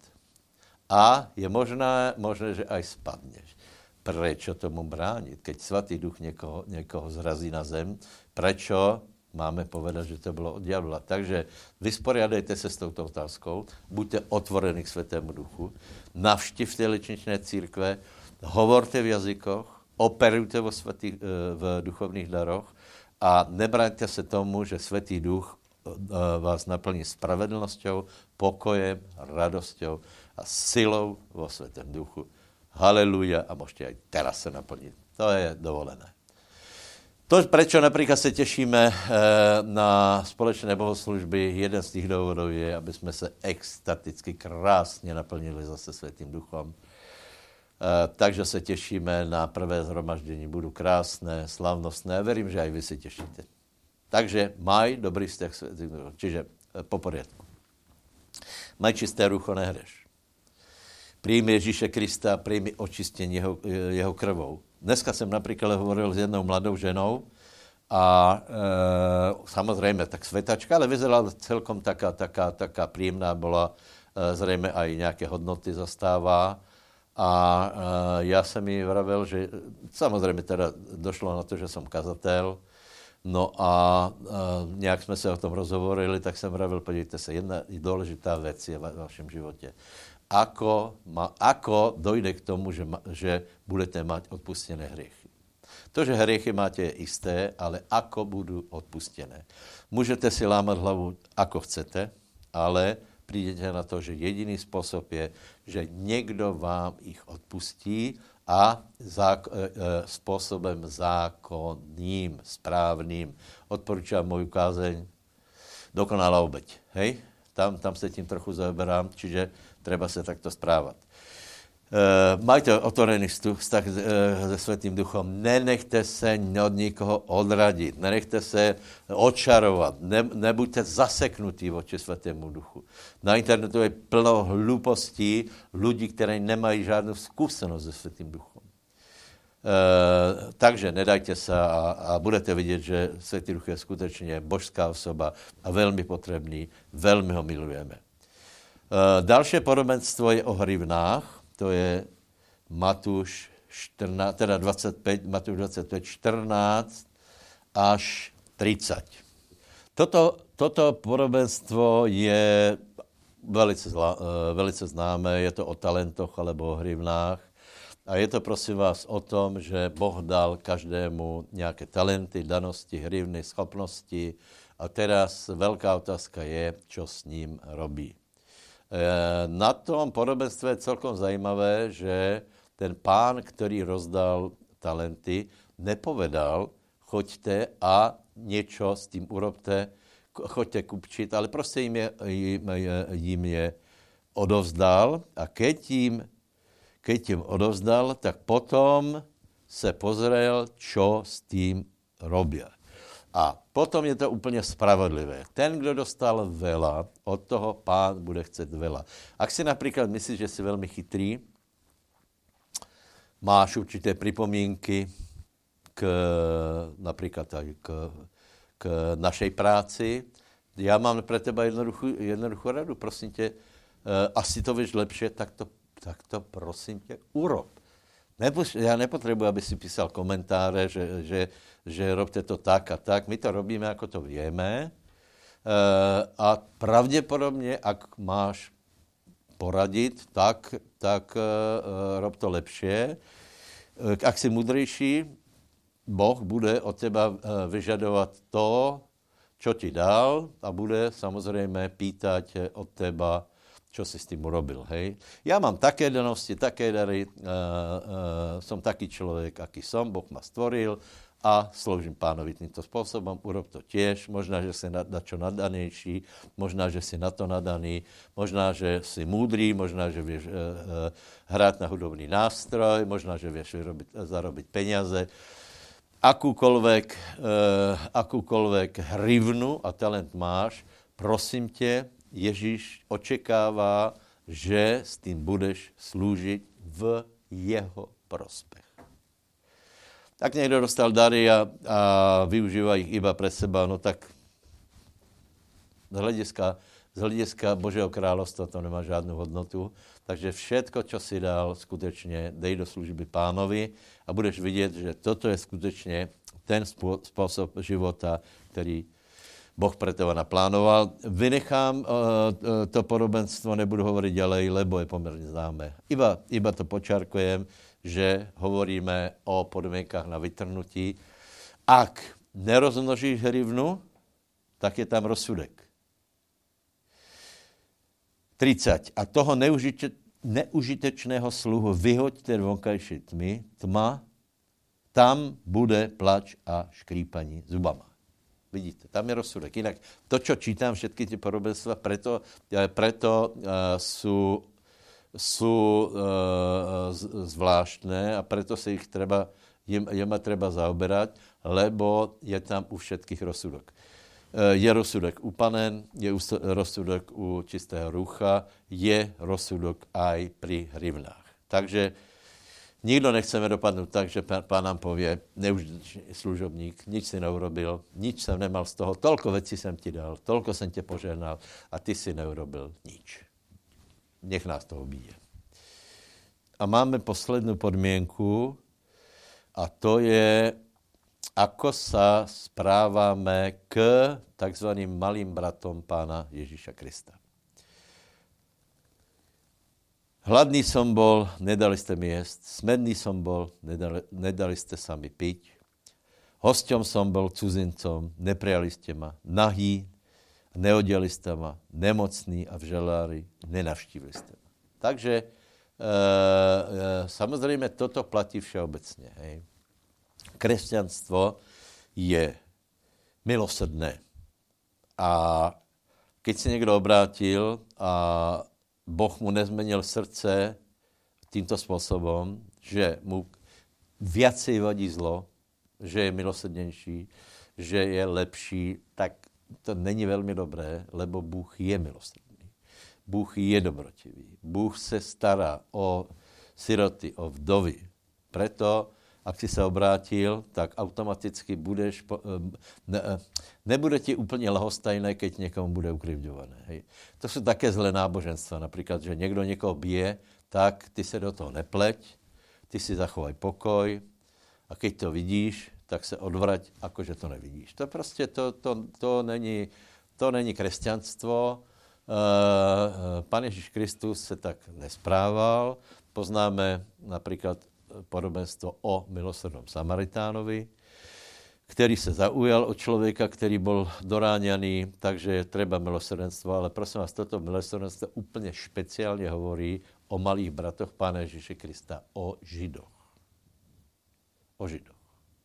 A je možné, možné, že aj spadneš. Prečo tomu bránit? Keď Svätý Duch někoho, někoho zrazí na zem, prečo máme povedat, že to bylo od diabla? Takže vysporiadejte se s touto otázkou, buďte otvorení k Svätému Duchu, navštivte ličničné církve, hovorte v jazykoch, operujte vo svätých, v duchovných daroch a nebraňte se tomu, že Svätý Duch vás naplní spravedlnosťou, pokojem, radosťou a silou vo Svätém Duchu. Haleluja, a môžete aj teraz se naplniť. To je dovolené. To, prečo napríklad se těšíme na společné bohoslužby, jeden z těch důvodů je, aby jsme se extaticky krásně naplnili zase Svätým Duchom. Uh, takže se těšíme na prvé zhromaždění. Budou krásné, slavnostné. Verím, že aj vy si těšíte. Takže maj dobrý vztah. Čiže uh, po poriadku. Maj čisté rucho, nehreš. Přijmi Ježíše Krista, přijmi očistění jeho, jeho krvou. Dneska jsem například hovoril s jednou mladou ženou a e, samozřejmě tak svetačka, ale vyzerala celkom taká, taká, taká príjemná, byla e, zřejmě aj nějaké hodnoty zastává. A uh, já jsem jí vravel, že samozřejmě teda došlo na to, že jsem kazatel, no a uh, nějak jsme se o tom rozhovorili, tak jsem vravel, podívejte se, jedna důležitá věc je v vašem životě. Ako, ma, ako dojde k tomu, že, ma, že budete mať odpustené hriechy. To, že hriechy máte, je isté, ale ako budou odpustené. Můžete si lámat hlavu, ako chcete, ale prídete na to, že jediný způsob je, že někdo vám ich odpustí a zák- e, e, způsobem zákonným, správným. Odporučám moju kázeň Dokonalá obeť. Hej? Tam, tam se tím trochu zaoberám, čiže treba se takto správat. Uh, majte otvorený vztah se Svätým Duchom. Nenechte se od nikoho odradit. Nenechte se očarovat. Ne, nebuďte zaseknutí voči Svätému Duchu. Na internetu je plno hlúpostí ľudí, kteří nemají žádnou zkušenost se Svätým Duchom. Uh, takže nedajte se a, a budete vidět, že Svätý Duch je skutečně božská osoba a velmi potřebný. Velmi ho milujeme. Uh, další podobenstvo je o hrivnách. To je Matúš čtrnáct, teda dvacet pět, Matúš dvacet pět, čtrnáct až třicet. Toto, toto podobenstvo je velice, zla, velice známé, je to o talentoch alebo o hrivnách. A je to, prosím vás, o tom, že Boh dal každému nějaké talenty, danosti, hrivny, schopnosti. A teraz velká otázka je, čo s ním robí. Na tom podobenstve je celkom zajímavé, že ten pán, který rozdal talenty, nepovedal, choďte a něco s tím urobte, choďte kupčit, ale prostě jim je, jim, jim je odovzdal a keď jim, keď jim odovzdal, tak potom se pozrel, čo s tím robia. A potom je to úplně spravodlivé. Ten, kdo dostal veľa, od toho Pán bude chcet veľa. Ak si napríklad myslíš, že si veľmi chytrý, máš určité pripomínky k, napríklad aj k, k našej práci, ja mám pre teba jednoduchú, jednoduchú radu, prosím tě, asi to vieš lepšie, tak to, tak to prosím tě urob. Nepoš, já nepotřebuji, aby si písal komentáře, že, že, že robte to tak a tak. My to robíme, jako to vieme. E, a pravděpodobně, ak máš poradit, tak, tak e, rob to lepšie. E, ak si mudrejší, Boh bude od teba vyžadovat to, čo ti dal a bude samozřejmě pýtať od teba, čo si s tým urobil, hej. Ja mám také danosti, také dary, uh, uh, som taký človek, aký som, Boh ma stvoril a sloužím Pánovi týmto spôsobom, urob to tiež, možná, že si na, na čo nadanejší, možná, že si na to nadaný, možná, že si múdrý, možná, že vieš uh, uh, hrát na hudobný nástroj, možná, že vieš vyrobiť, zarobiť peniaze. Akúkoľvek, uh, akúkoľvek hrivnu a talent máš, prosím tě, Ježíš očekává, že s tým budeš slúžiť v jeho prospech. Tak někdo dostal dary a, a využívá ich iba pre seba, no tak z hlediska, z hlediska Božieho kráľovstva to nemá žádnou hodnotu. Takže všetko, čo si dal, skutečně dej do služby Pánovi a budeš vidět, že toto je skutečně ten způsob života, který Boh pre teba naplánoval. Vynechám uh, to podobenstvo, nebudu hovoriť ďalej, lebo je pomerne známe. Iba, iba to počarkujem, že hovoríme o podmienkách na vytrhnutí. Ak nerozmnožíš hrivnu, tak je tam rozsudek. tridsať. A toho neužite, neužitečného sluhu vyhoďte do vonkajšej tmy, tma, tam bude plač a škrípaní zubama. Vidíte, tam je rozsudek. Jinak to, čo čítám, všetky ty podobenstva, preto, preto uh, sú, sú uh, zvláštne a preto se ich treba, jem, jema treba zaoberať, lebo je tam u všetkých rozsudok. Uh, je rozsudek u panen, je rozsudek u čistého rucha, je rozsudok aj pri hrivnách. Takže nikdo nechceme dopadnout tak, že pán nám pově, neužitečný služobník, nič si neurobil, nič jsem nemal z toho, tolko věcí jsem ti dal, tolko jsem tě požehnal a ty si neurobil nič. Nech nás to obíje. A máme poslednou podmienku a to je, ako sa správame k takzvaným malým bratom pána Ježíša Krista. Hladný som bol, nedali ste mi jesť, smedný som bol, nedali, nedali ste sa mi piť, hosťom som bol, cudzincom, neprijali ste ma, nahý, neodiali ste ma, nemocný a v žalári, nenavštívili ste ma. Takže e, e, samozrejme toto platí všeobecne. Hej. Kresťanstvo je milosrdné. A keď si niekto obrátil a Boh mu nezmenil srdce týmto spôsobom, že mu viacej vadí zlo, že je milosrdnější, že je lepší, tak to není velmi dobré, lebo Bůh je milosrdný. Bůh je dobrotivý. Bůh se stará o siroty, o vdovy. Preto, ak si se obrátil, tak automaticky budeš, ne, nebude ti úplně lahostajné, keď někomu bude ukrivďované. Hej. To jsou také zlé náboženstva. Například, že někdo někoho bije, tak ty se do toho nepleť, ty si zachovaj pokoj a keď to vidíš, tak se odvrať, akože to nevidíš. To prostě, to, to, to, není, to není kresťanstvo. Pán Ježíš Kristus se tak nesprával. Poznáme například podobenstvo o milosrdnom Samaritánovi, který se zaujal od člověka, který byl doráňaný, takže je treba milosrdenstvo, ale prosím vás, toto milosrdenstvo úplně špeciálně hovorí o malých bratoch Pána Ježíše Krista, o Židoch. O Židoch.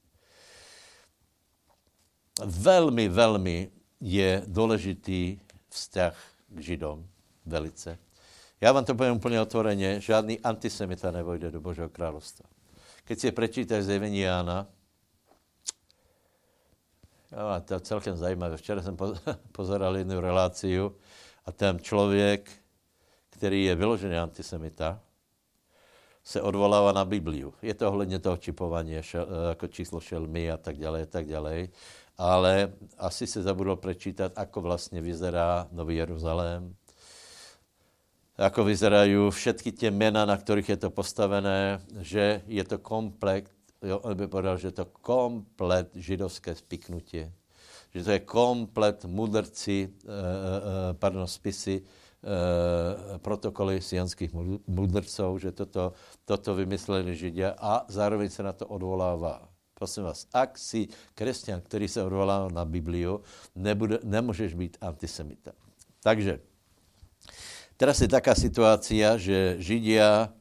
Velmi, velmi je důležitý vzťah k Židom, velice. Já vám to poviem úplně otvoreně, žádný antisemita nevojde do Božího královstva. Keď si prečítaš zjevení Jána, No, to je celkem zajímavé. Včera jsem pozeral jednu reláciu a ten člověk, který je vyložený antisemita, se odvolává na Bibliu. Je to ohledně toho čipování, jako číslo šelmy a tak dále, a tak dále. Ale asi se zabudol prečítať, ako vlastne vyzerá Nový Jeruzalém, ako vyzerajú všetky tie mena, na ktorých je to postavené, že je to komplet, jo, on by povedal, že je to komplet židovské spiknutie, že to je komplet mudrci, eh, eh, pardon, spisy, eh, protokoly sionských mudrcov, že toto, toto vymysleli Židia a zároveň sa na to odvolává. Prosím vás, ak si kresťan, ktorý sa odvolá na Bibliu, nebude, nemôžeš byť antisemita. Takže, teraz je taká situácia, že Židia e,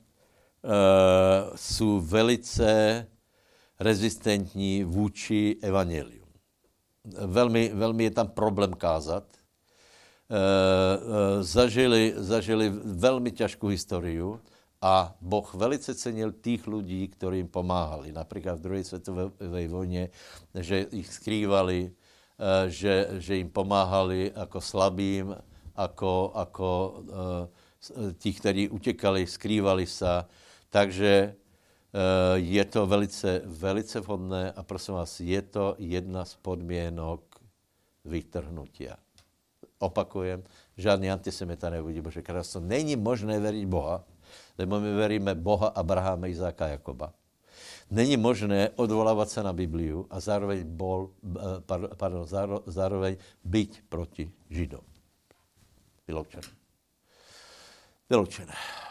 sú velice rezistentní vůči evanjeliu. Veľmi, veľmi je tam problém kázať. E, e, zažili, zažili veľmi ťažkú históriu, a Boh velice cenil tých ľudí, ktorí im pomáhali. Napríklad v druhej svetovej vojne, že ich skrývali, že, že im pomáhali ako slabým, ako, ako tí, ktorí utekali, skrývali sa. Takže je to velice, velice vhodné a prosím vás, je to jedna z podmienok vytrhnutia. Opakujem, žádný antisemita nevidí Bože kráľovstvo. Není možné veriť Boha, lebo my veríme Boha Abraháma, Izáka a Jakoba. Není možné odvolávať sa na Bibliu a zároveň, bol, pardon, zároveň byť proti Židom. Vyloučené. Vyloučené.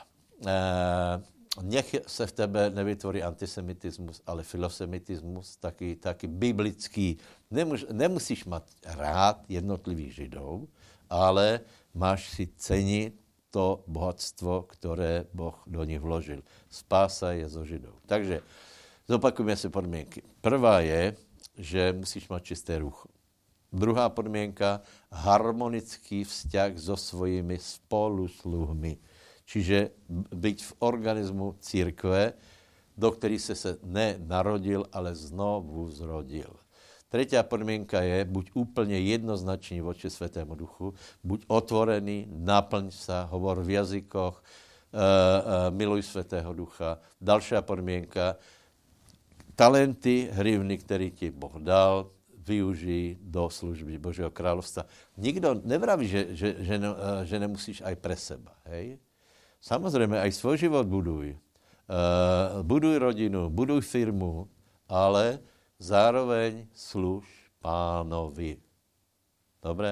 Nech sa v tebe nevytvorí antisemitismus, ale filosemitismus, taký, taký biblický. Nemus, nemusíš mať rád jednotlivých Židov, ale máš si ceniť to bohatstvo, ktoré Boh do nich vložil. Spása je zo Židov. Takže zopakujeme si podmienky. Prvá je, že musíš mať čisté rucho. Druhá podmienka, harmonický vzťah so svojimi spolusluhmi. Čiže byť v organizmu církve, do ktorých si sa nenarodil, ale znovu zrodil. Tretia podmienka je, buď úplne jednoznačný voči Svätému Duchu, buď otvorený, naplň sa, hovor v jazykoch, e, e, miluj Svätého Ducha. Ďalšia podmienka, talenty, hrivny, ktorý ti Boh dal, využij do služby Božieho kráľovstva. Nikto nevraví, že, že, že, ne, že nemusíš aj pre seba. Hej? Samozrejme, aj svoj život buduj. E, buduj rodinu, buduj firmu, ale zároveň služ Pánovi. Dobre?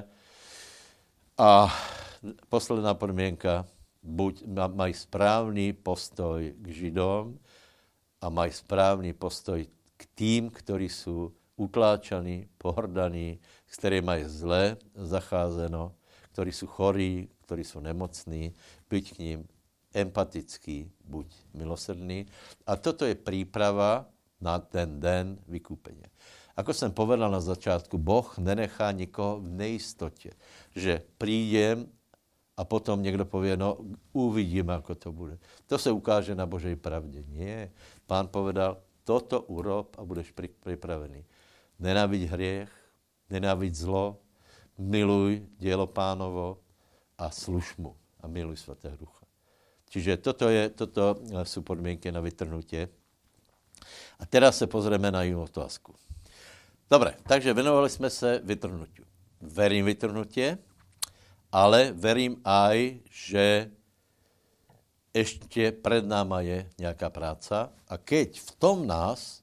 A posledná podmienka, buď maj správny postoj k Židom a maj správny postoj k tým, ktorí sú utláčaní, pohrdaní, s ktorými je zle zacházeno, ktorí sú chorí, ktorí sú nemocní, byť k ním empatický, buď milosrdný. A toto je príprava na ten den vykúpenia. Ako som povedal na začiatku, Boh nenechá nikoho v nejistote, že prídem a potom niekto povie, no uvidíme, ako to bude. To sa ukáže na Božej pravde. Nie. Pán povedal, toto urob a budeš pripravený. Nenáviď hriech, nenáviď zlo, miluj dielo Pánovo a služ mu a miluj Svätého Ducha. Čiže toto, je, toto sú podmienky na vytrhnutie. A teraz sa pozrieme na inú otázku. Dobre, takže venovali sme sa vytrhnutiu. Verím vytrhnutie, ale verím aj, že ešte pred náma je nejaká práca a keď v tom nás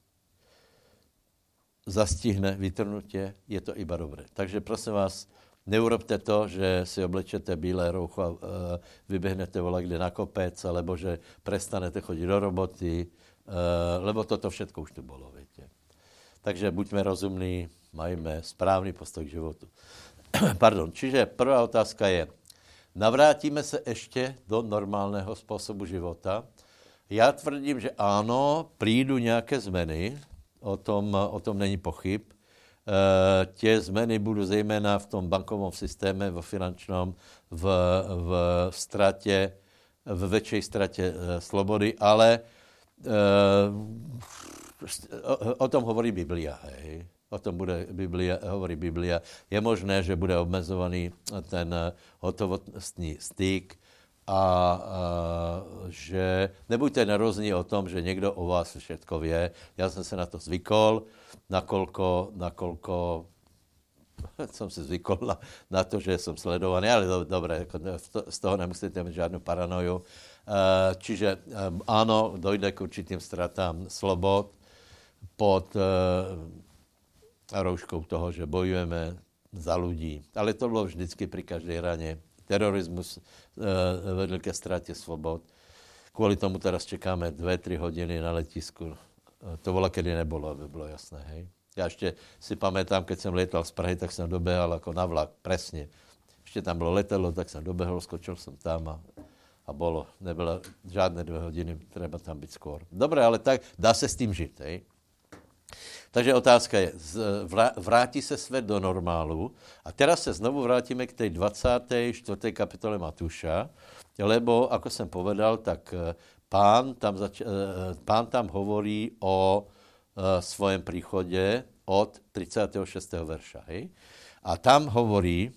zastihne vytrhnutie, je to iba dobré. Takže prosím vás, neurobte to, že si oblečete bílé roucho a vybehnete voľa kde na kopec, alebo že prestanete chodiť do roboty, lebo toto všetko už tu bolo, viete. Takže buďme rozumní, majme správny postoj k životu. Pardon, čiže prvá otázka je, navrátime sa ešte do normálneho spôsobu života? Ja tvrdím, že áno, prídu nejaké zmeny, o tom, o tom není pochyb. E, tie zmeny budú zejména v tom bankovom systéme, vo finančnom, v, v strate, v väčšej strate e, slobody, ale E, o, o tom hovorí Biblia, hej. O tom bude Biblia, hovorí Biblia. Je možné, že bude obmezovaný ten hotovostný styk a, a že nebuďte nervózní o tom, že někdo o vás všetko vie. Já jsem se na to zvykol, nakolko, nakolko jsem se zvykol na, na to, že jsem sledovaný, ale do, dobré, z toho nemusíte mít žádnou paranoju. Čiže áno, dojde k určitým stratám slobod pod rouškou toho, že bojujeme za ľudí. Ale to bylo vždycky pri každej rane. Terorismus vedl ke ztrátě svobod. Kvůli tomu teraz čekáme dvě, tři hodiny na letisku. To bylo, kedy nebylo, aby bylo jasné, hej. Já ještě si pamätám, keď jsem lietal z Prahy, tak jsem dobehal jako na vlak, presně. Ještě tam bylo letadlo, tak jsem dobehl, skočil jsem tam a, a bolo. Nebylo žádné dvě hodiny, treba tam být skôr. Dobré, ale tak dá se s tím žít, hej. Takže otázka je, vrátí se svět do normálu a teraz se znovu vrátíme k tej dvacáté čtvrté kapitole Matúša, lebo, ako jsem povedal, tak pán tam, zač- pán tam hovorí o svojom príchode od tridsiateho šiesteho verša. Hej? A tam hovorí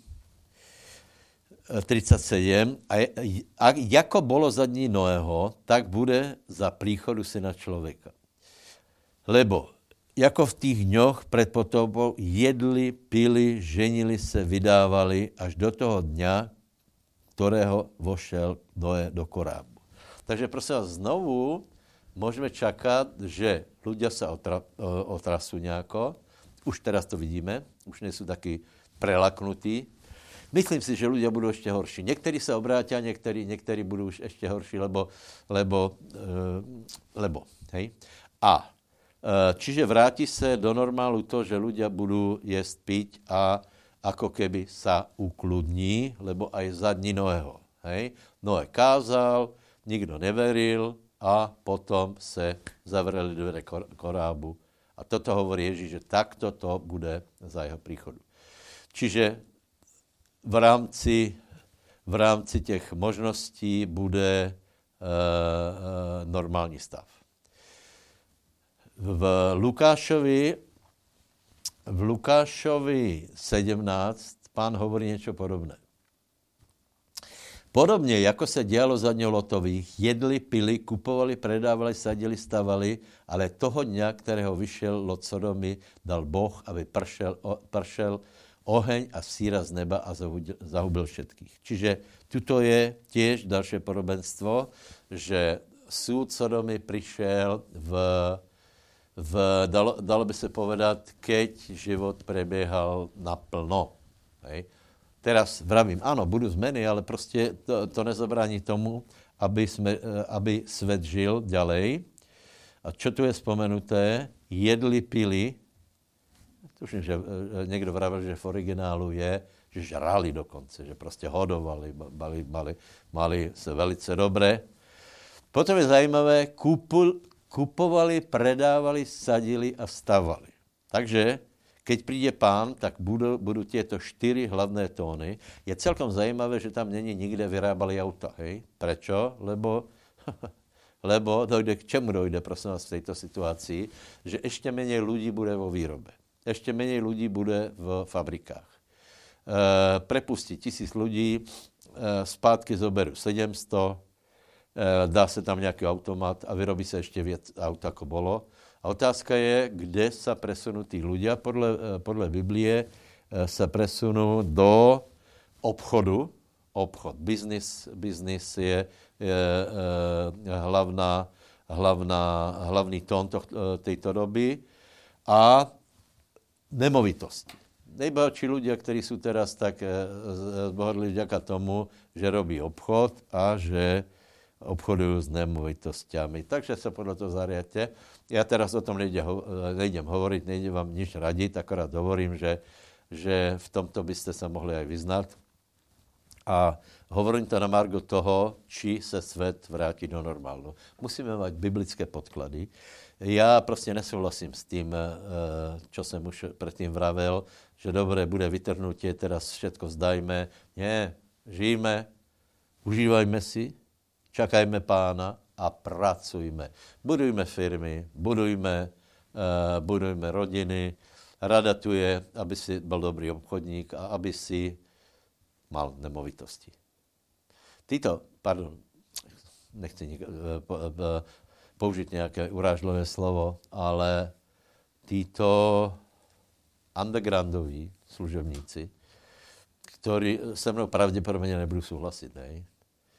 tridsaťsedem, a, a jako bolo za dní Noého, tak bude za príchodu syna človeka. Lebo jako v tých dňoch pred potopou jedli, pili, ženili se, vydávali až do toho dňa, ktorého vošel Noé do korábu. Takže prosím vás, znovu môžeme čakať, že ľudia sa otra, otrasú nejako. Už teraz to vidíme, už nie sú takí prelaknutí. Myslím si, že ľudia budú ešte horší. Niektorí sa obrátia, niektorí, niektorí budú už ešte horší, lebo, lebo, lebo, hej. A čiže vráti sa do normálu to, že ľudia budú jesť, piť a ako keby sa ukludní, lebo aj za dní Noého. Hej. Noé kázal, nikto neveril, a potom se zavreli dvere korábu. A toto hovorí Ježíš, že takto to bude za jeho príchodu. Čiže v rámci, v rámci těch možností bude e, e, normální stav. V Lukášovi, v Lukášovi sedemnáct pán hovorí niečo podobné. Podobně, jako se dělalo za dňou Lotových, jedli, pili, kupovali, predávali, sadili, stavali, ale toho dňa, kterého vyšel Lot Sodomy, dal Boh, aby pršel, o, pršel oheň a síra z neba a zahubil všetkých. Čiže tuto je tiež dalšie podobenstvo, že súd Sodomy prišiel v, v dalo, dalo by se povedať, keď život prebiehal naplno. Hej. Teraz vravím, áno, budú zmeny, ale prostě to, to nezabrání tomu, aby, sme, aby svet žil ďalej. A čo tu je spomenuté? Jedli, pili. Tuším, že někdo vravil, že v originálu je, že žrali dokonce, že prostě hodovali, mali, mali, mali se velice dobré. Potom je zajímavé, kupul, kupovali, predávali, sadili a stavali. Takže keď príde pán, tak budú, budú tieto štyri hlavné tóny. Je celkom zajímavé, že tam není nikde vyrábali auta. Hej? Prečo? Lebo, lebo dojde, k čemu dojde, prosím vás, v tejto situácii? Že ešte menej ľudí bude vo výrobe. Ešte menej ľudí bude v fabrikách. E, prepustí tisíc ľudí, e, zpátky zoberú sedemsto, e, dá sa tam nejaký automat a vyrobí sa ešte viac aut, ako bolo. A otázka je, kde sa presunú tí ľudia. Podle, podle Biblie sa presunú do obchodu. Obchod, biznis, biznis je, je, je hlavná, hlavná, hlavný tón to, tejto doby. A nemovitosti. Nejbohatší ľudia, ktorí sú teraz tak zbohatli vďaka tomu, že robí obchod a že obchodujú s nemovitosťami. Takže sa podľa toho zariadte. Ja teraz o tom nejdem, nejdem hovoriť, nejdem vám nič radiť, akorát hovorím, že, že v tomto by ste sa mohli aj vyznať. A hovorím to na margo toho, či sa svet vráti do normálu. Musíme mať biblické podklady. Ja proste nesúhlasím s tým, čo som už predtým vravel, že dobre, bude vytrhnutie, teraz všetko vzdajme. Nie, žijeme, užívajme si, čakajme pána a pracujme. Budujme firmy, budujme, uh, budujme rodiny, Rada tu je, aby si byl dobrý obchodník a aby si mal nemovitosti. Títo, pardon, nechci nik- použít nějaké urážlivé slovo, ale títo undergroundoví služebníci, ktorí se mnou pravděpodobně nebudou souhlasit, ne? E,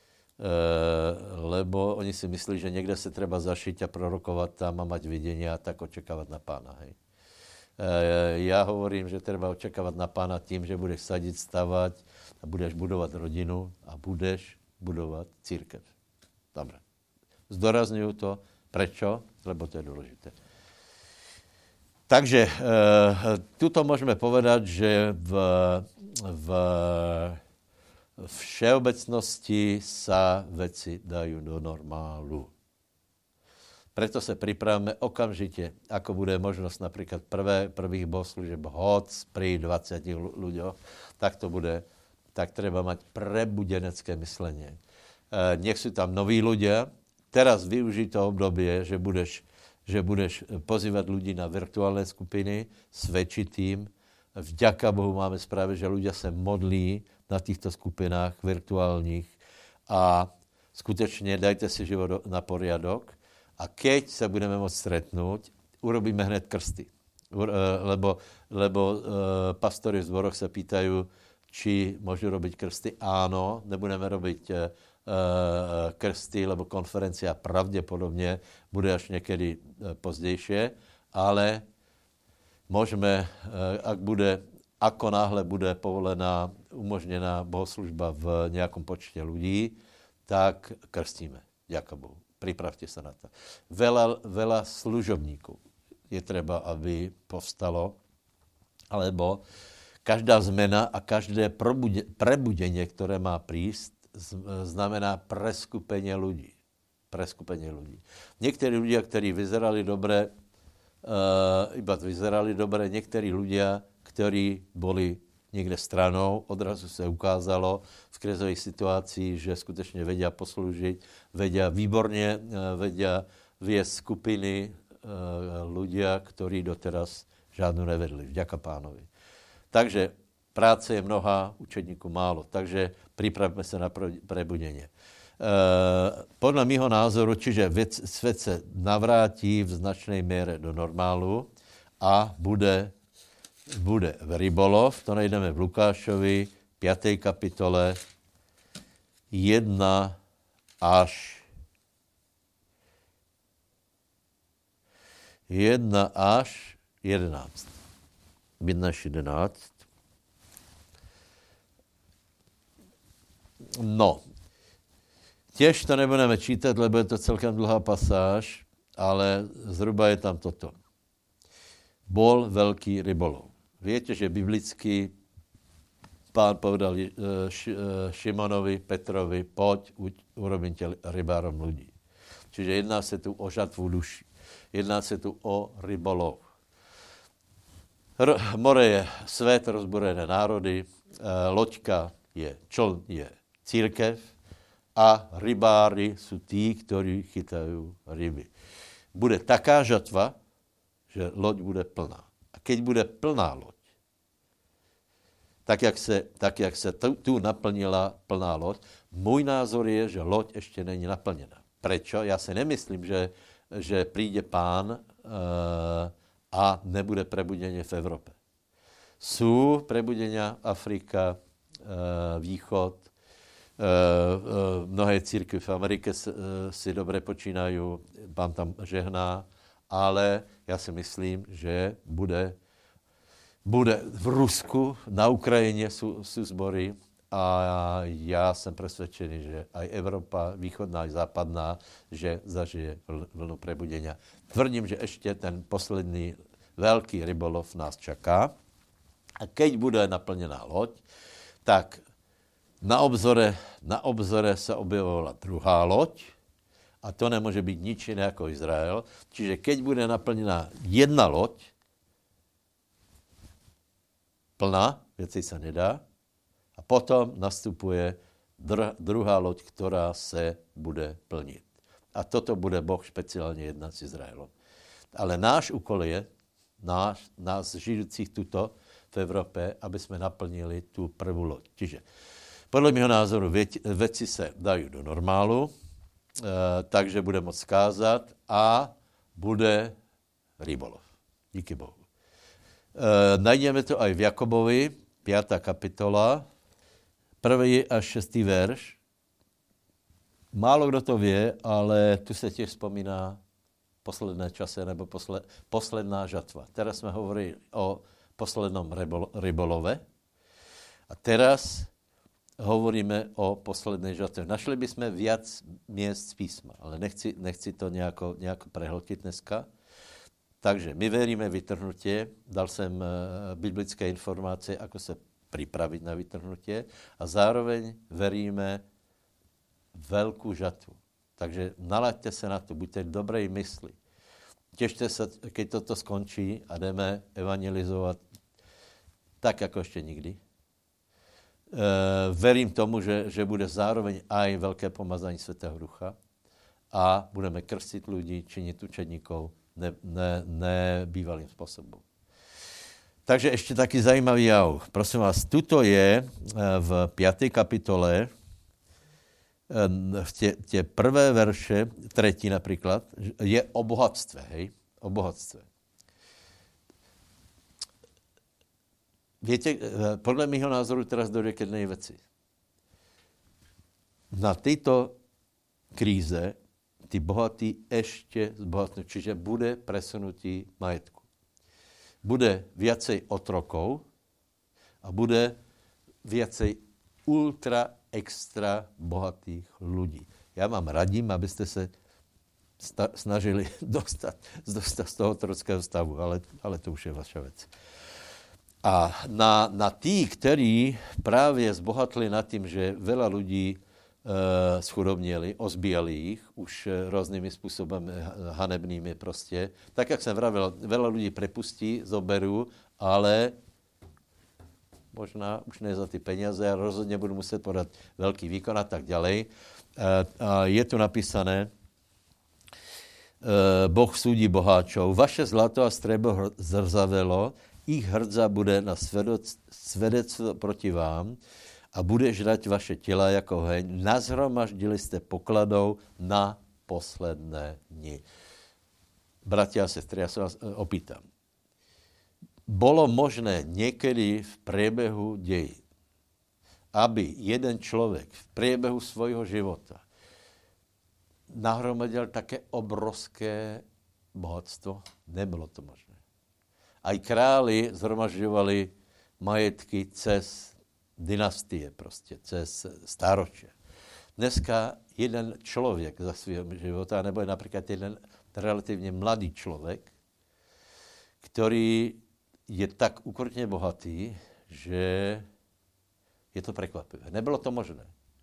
lebo oni si myslí, že někde se treba zašiť a prorokovat tam a mať vidění a tak očekávat na pána, hej. E, já hovorím, že treba očekávat na pána tím, že budeš sadit, stavať a budeš budovat rodinu a budeš budovat církev. Dobre. Zdorazňuju to. Prečo? Lebo to je důležité. Takže e, tuto můžeme povedať, že v, v všeobecnosti sa veci dajú do normálu. Preto se pripravíme okamžite, ako bude možnosť napríklad prvé, prvých bohoslužieb hoc pri dvadsiatich ľuďoch, tak to bude, tak treba mať prebudenecké myslenie. E, nech sú tam noví ľudia. Teraz využij to obdobie, že budeš že budeš pozývat ľudí na virtuálne skupiny, svedčiť tým. Vďaka Bohu máme správy, že ľudia se modlí na týchto skupinách virtuálních a skutečně dajte si život na poriadok a keď se budeme moct stretnout, urobíme hned krsty. Lebo, lebo uh, pastory v zboroch se pýtajú, či môžu robiť krsty. Áno, nebudeme robiť uh, krsty, lebo konferencia pravděpodobně bude až někdy pozdějšie, ale můžeme, ak bude, ako náhle bude povolená, umožněná bohoslužba v nějakom počte lidí, tak krstíme. Ďakujem Bohu. Pripravte se na to. Veľa, veľa služobníků je třeba, aby povstalo, alebo každá zmena a každé prebudenie, které má prísť, znamená preskupenie ľudí. Preskupenie ľudí. Někteří ľudia, ktorí vyzerali dobre, uh, iba vyzerali dobre, někteří ľudia, ktorí boli někde stranou, odrazu se ukázalo v krizových situacích, že skutečně vedia poslúžiť, vedia výborně, uh, vedia viesť skupiny uh, ľudia, ktorí doteraz žádnou nevedli. Vďaka pánovi. Takže práce je mnoha, učedníků málo, takže pripravme se na prebudenie. E, podle mýho názoru, čiže věc, svět se navrátí v značnej míře do normálu a bude, bude v rybolov, to najdeme v Lukášovi, páté kapitole, jedna až jedna až jedenáct. jedna až jedenáct. No, těž to nebudeme čítat, lebo je to celkem dlhá pasáž, ale zhruba je tam toto. Bol veľký rybolov. Viete, že biblicky pán povedal Šimonovi, Petrovi, poď, urobím tě rybárom ľudí. Čiže jedná se tu o žatvu duší. Jedná se tu o rybolov. R- more je svět, rozborené národy, loďka je, čln je církev a rybári sú tí, ktorí chytajú ryby. Bude taká žatva, že loď bude plná. A keď bude plná loď, tak jak se, tak jak se tu, tu naplnila plná loď, můj názor je, že loď ještě není naplněna. Prečo? Já si nemyslím, že, že príde pán e, a nebude prebudenie v Evropě. Sú prebudenia Afrika, e, východ, mnohé církvy v Americe si dobře počínají, pán tam žehná, ale já si myslím, že bude, bude v Rusku, na Ukrajině jsou, jsou sbory a já jsem přesvědčený, že aj Evropa, východná i západná, že zažije vlnu prebudenia. Tvrdím, že ještě ten poslední velký rybolov nás čaká a keď bude naplněná loď, tak Na obzore, na obzore se objevovala druhá loď a to nemůže být nič jiné jako Izrael. Čiže keď bude naplněná jedna loď, plná, věci se nedá, a potom nastupuje dr- druhá loď, která se bude plnit. A toto bude Boh speciálně jednat s Izraelom. Ale náš úkol je, nás, nás žijúcich tuto v Evropě, aby jsme naplnili tu prvú loď. Čiže podle mého názoru věci, věci se dají do normálu, e, takže bude moct skázat a bude rybolov. Díky Bohu. E, najdeme to aj v Jakobovi, pátá kapitola, prvý až šestý verš. Málo kdo to vie, ale tu se tiež vzpomíná posledné čase nebo posled, posledná žatva. Teraz jsme hovorili o poslednom rybolove a teraz hovoríme o poslednej žatve. Našli bychom viac miest z písma, ale nechci, nechci to nejako, nejako prehltiť dneska. Takže my veríme vytrhnutie, dal jsem biblické informace, ako se pripraviť na vytrhnutie a zároveň veríme veľkú žatvu. Takže nalaďte se na to, buďte v dobrej mysli. Těšte se, keď toto skončí a jdeme evangelizovat tak, jako ještě nikdy. E, verím tomu, že, že bude zároveň aj velké pomazání Svätého Ducha a budeme krstit lidi, činit učedníkov ne, ne, nebývalým způsobem. Takže ještě taky zajímavý jav. Prosím vás, tuto je v páté kapitole, v tě, tě prvé verše, třetí například, je o bohatstve, hej? O bohatstve. Víte, podle mýho názoru teraz dojde k jednej věci. Na této kríze ty bohatí ještě zbohatnú, čiže bude presunutí majetku. Bude viacej otrokov a bude viacej ultra extra bohatých ľudí. Já vám radím, abyste se sta- snažili dostat, dostat z toho otrockého stavu, ale, ale to už je vaša věc. A na, na tí, ktorí právě zbohatli nad tím, že veľa ľudí e, schudobněli, ozbíjali ich už různými způsobem hanebnými prostě. Tak, jak jsem vravil, veľa ľudí prepustí, zoberú, ale možná už ne za ty peníze a rozhodně budu muset podat velký výkon a tak ďalej. A je tu napísané, Boh súdi boháčov, vaše zlato a strebo zrzavelo, ich hrdza bude na svedectvo proti vám a bude žrať vaše těla jako heň. Nazhromaždili jste pokladou na posledné dni. Bratia a sestry, já se vás opýtam. Bolo možné niekedy v priebehu dejí, aby jeden človek v priebehu svojho života nahromadil také obrovské bohatstvo? Nebylo to možné. Aj králi zhromažďovali majetky cez dynastie, prostě, cez stáročie. Dneska jeden člověk za svého života, nebo je například jeden relativně mladý člověk, který je tak ukrutně bohatý, že je to prekvapivé. Nebylo to možné.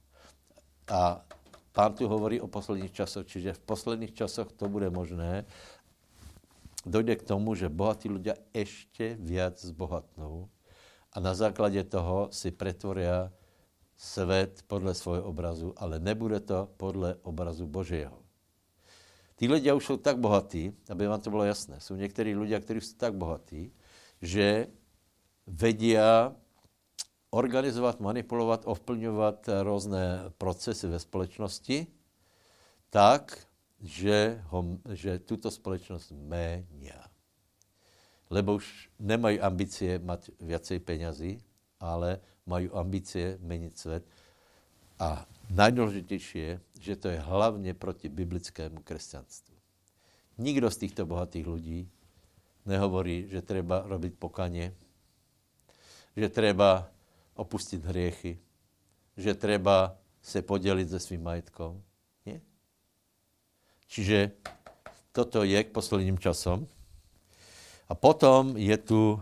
A Pán tu hovorí o posledních časoch, čiže v posledních časoch to bude možné. Dojde k tomu, že bohatí ľudia ešte viac zbohatnou a na základě toho si pretvoria svět podle svojho obrazu, ale nebude to podle obrazu Božího. Tí ľudia už jsou tak bohatí, aby vám to bylo jasné, jsou někteří ľudia, kteří jsou tak bohatí, že vedia organizovat, manipulovat, ovplňovat různé procesy ve společnosti tak, že, ho, že tuto společnost ménia. Lebo už nemají ambicie mať viacej peňazí, ale mají ambicie meniť svět. A najdůležitější je, že to je hlavně proti biblickému křesťanstvu. Nikdo z těchto bohatých lidí nehovorí, že treba robiť pokanie, že treba opustit hriechy, že treba se podělit se svým majetkom. Nie? Čiže toto je k posledním časom. A potom je tu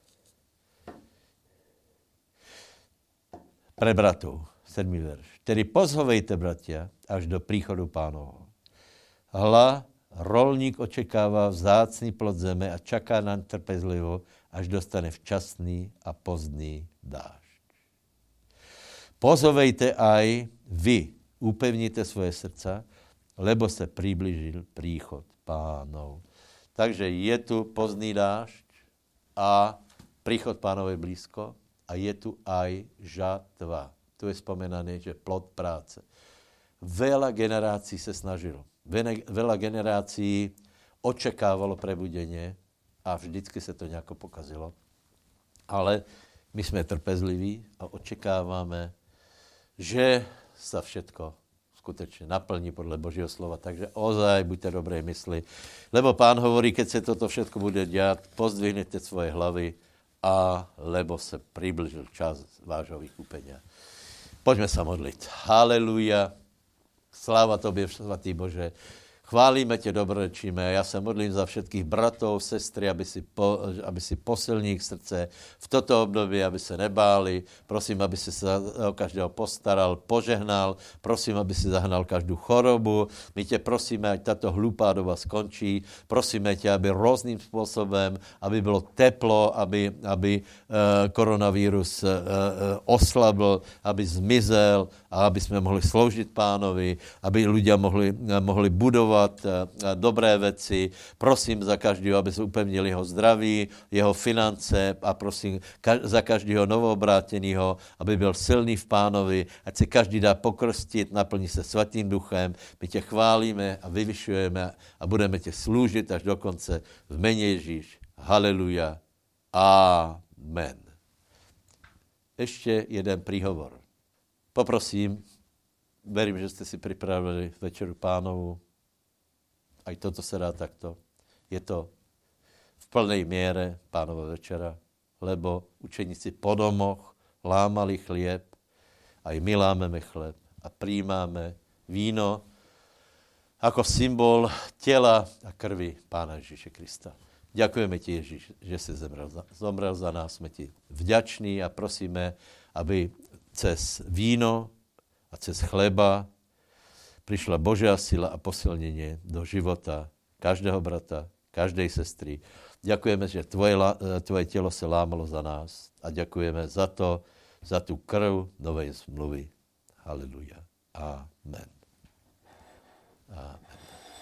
pre bratov, sedmý verš. Tedy pozhovejte, bratia, až do príchodu Pánovho. Hla, rolník očekává vzácný plod zeme a čaká nám trpezlivo, až dostane včasný a pozdný dážď. Pozhovejte aj vy, upevnite svoje srdca, lebo se priblížil príchod Pánov. Takže je tu pozdný dážď a príchod Pánovej blízko a je tu aj žatva. Tu je spomenané, že plod práce. Veľa generácií sa snažilo. Veľa generácií očakávalo prebudenie a vždycky sa to nejako pokazilo. Ale my sme trpezliví a očakávame, že sa všetko skutečne naplní podľa Božieho slova. Takže ozaj buďte dobrej mysli. Lebo Pán hovorí, keď sa toto všetko bude diať, pozdvihnete svoje hlavy a lebo sa priblížil čas vášho vykúpenia. Poďme sa modliť. Halelúja. Sláva Tobie, svatý Bože. Chválíme Tě, dobrorečíme. Ja sa modlím za všetkých bratov, sestry, aby si, po, aby si posilní ich srdce v toto období, aby sa nebáli. Prosím, aby si sa o každého postaral, požehnal. Prosím, aby si zahnal každú chorobu. My Tě prosíme, ať táto hlúpá doba skončí. Prosíme Tě, aby rôznym spôsobem, aby bylo teplo, aby, aby uh, koronavírus uh, uh, oslabl, aby zmizel a aby sme mohli sloužiť Pánovi, aby ľudia mohli, uh, mohli budovať dobré veci. Prosím za každého, aby sa upevnil jeho zdraví, jeho finance a prosím ka- za každého novoobráteného, aby byl silný v Pánovi, ať se každý dá pokrstiť, naplní se Svatým duchem. My tě chválíme a vyvyšujeme a budeme tě slúžiť až do konce v mene Ježíš. Haleluja. Amen. Ešte jeden príhovor. Poprosím, verím, že ste si pripravili večeru Pánovu. Aj toto sa dá takto. Je to v plnej miere Pánova večera, lebo učeníci po domoch lámali chlieb, aj my lámeme chleb a príjmáme víno ako symbol tela a krvi Pána Ježíše Krista. Ďakujeme Ti, Ježíš, že si zomrel za, zomrel za nás. Sme Ti vďační a prosíme, aby cez víno a cez chleba prišla Božia sila a posilnenie do života každého brata, každej sestry. Ďakujeme, že tvoje, tvoje telo sa lámalo za nás a ďakujeme za to, za tú krv novej zmluvy. Haleluja. Amen. Amen.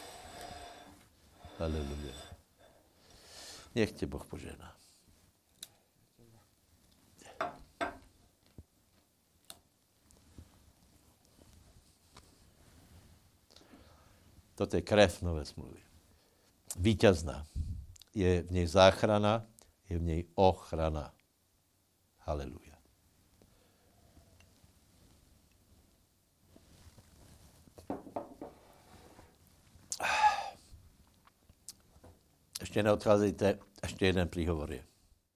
Haleluja. Nech te Boh požehná. Toto je krev nové zmluvy. Víťazná. Je v nej záchrana, je v nej ochrana. Haleluja. Ešte neodchádzajte, ešte jeden príhovor je.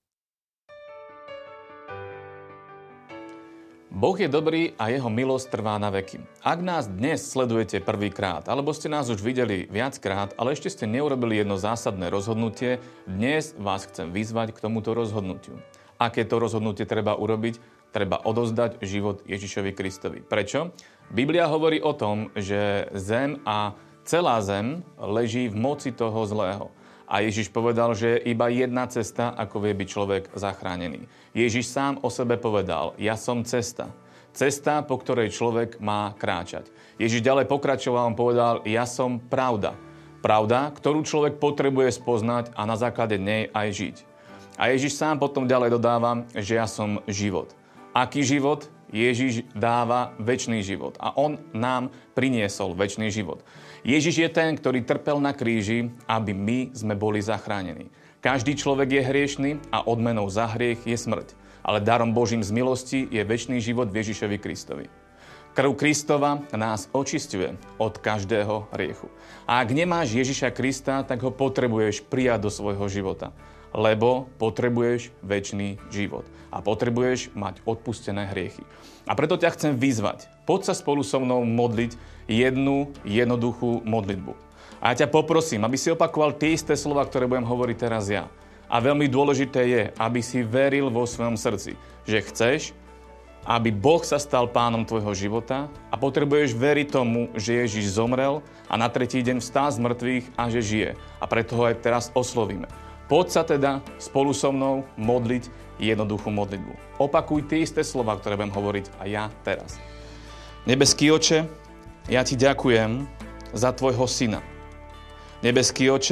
Boh je dobrý a jeho milosť trvá na veky. Ak nás dnes sledujete prvýkrát, alebo ste nás už videli viackrát, ale ešte ste neurobili jedno zásadné rozhodnutie, dnes vás chcem vyzvať k tomuto rozhodnutiu. Aké to rozhodnutie treba urobiť? Treba odozdať život Ježišovi Kristovi. Prečo? Biblia hovorí o tom, že zem a celá zem leží v moci toho zlého. A Ježiš povedal, že je iba jedna cesta, ako vie byť človek zachránený. Ježiš sám o sebe povedal, ja som cesta. Cesta, po ktorej človek má kráčať. Ježiš ďalej pokračoval, on povedal, ja som pravda. Pravda, ktorú človek potrebuje spoznať a na základe nej aj žiť. A Ježiš sám potom ďalej dodáva, že ja som život. Aký život? Ježiš dáva večný život a on nám priniesol večný život. Ježiš je ten, ktorý trpel na kríži, aby my sme boli zachránení. Každý človek je hriešný a odmenou za hriech je smrť. Ale darom Božím z milosti je večný život v Ježišovi Kristovi. Krv Kristova nás očisťuje od každého hriechu. A ak nemáš Ježiša Krista, tak ho potrebuješ prijať do svojho života. Lebo potrebuješ večný život. A potrebuješ mať odpustené hriechy. A preto ťa chcem vyzvať. Poď sa spolu so mnou modliť jednu jednoduchú modlitbu. A ja ťa poprosím, aby si opakoval tie isté slova, ktoré budem hovoriť teraz ja. A veľmi dôležité je, aby si veril vo svojom srdci, že chceš, aby Boh sa stal pánom tvojho života a potrebuješ veriť tomu, že Ježiš zomrel a na tretí deň vstal z mŕtvych a že žije. A preto ho aj teraz oslovíme. Poď sa teda spolu so mnou modliť jednoduchú modlitbu. Opakuj tie isté slova, ktoré budem hovoriť a ja teraz. Nebeský Oče, ja ti ďakujem za tvojho syna. Nebeský Oče,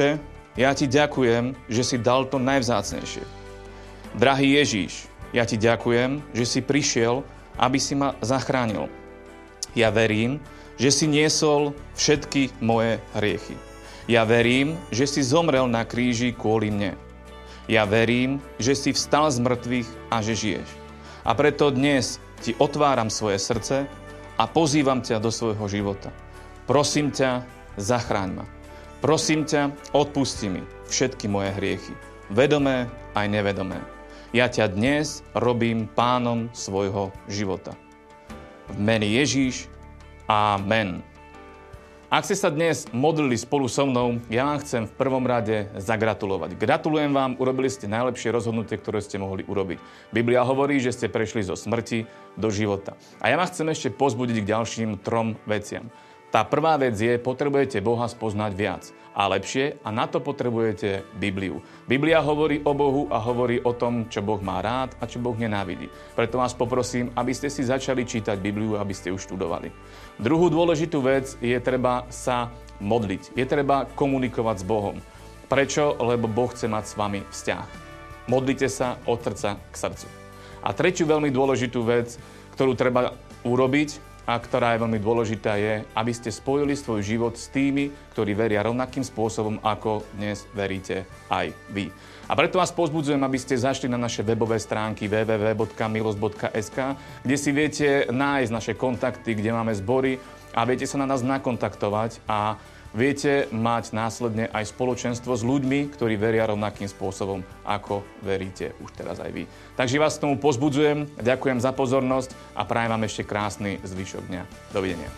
ja ti ďakujem, že si dal to najvzácnejšie. Drahý Ježíš, ja ti ďakujem, že si prišiel, aby si ma zachránil. Ja verím, že si niesol všetky moje hriechy. Ja verím, že si zomrel na kríži kvôli mne. Ja verím, že si vstal z mŕtvych a že žiješ. A preto dnes ti otváram svoje srdce a pozývam ťa do svojho života. Prosím ťa, zachráň ma. Prosím ťa, odpusti mi všetky moje hriechy, vedomé aj nevedomé. Ja ťa dnes robím pánom svojho života. V mene Ježíš, amen. Ak ste sa dnes modlili spolu so mnou, ja vám chcem v prvom rade zagratulovať. Gratulujem vám, urobili ste najlepšie rozhodnutie, ktoré ste mohli urobiť. Biblia hovorí, že ste prešli zo smrti do života. A ja vás chcem ešte pozbudiť k ďalším trom veciam. Tá prvá vec je, potrebujete Boha spoznať viac a lepšie a na to potrebujete Bibliu. Biblia hovorí o Bohu a hovorí o tom, čo Boh má rád a čo Boh nenávidí. Preto vás poprosím, aby ste si začali čítať Bibliu, aby ste ju študovali. Druhú dôležitú vec je treba sa modliť. Je treba komunikovať s Bohom. Prečo? Lebo Boh chce mať s vami vzťah. Modlite sa od srdca k srdcu. A tretiu veľmi dôležitú vec, ktorú treba urobiť, a ktorá je veľmi dôležitá, je, aby ste spojili svoj život s tými, ktorí veria rovnakým spôsobom, ako dnes veríte aj vy. A preto vás povzbudzujem, aby ste zašli na naše webové stránky w w w bodka milosť bodka es ka, kde si viete nájsť naše kontakty, kde máme zbory a viete sa na nás nakontaktovať a viete mať následne aj spoločenstvo s ľuďmi, ktorí veria rovnakým spôsobom, ako veríte už teraz aj vy. Takže vás k tomu pozbudzujem, ďakujem za pozornosť a prajem vám ešte krásny zvyšok dňa. Dovidenia.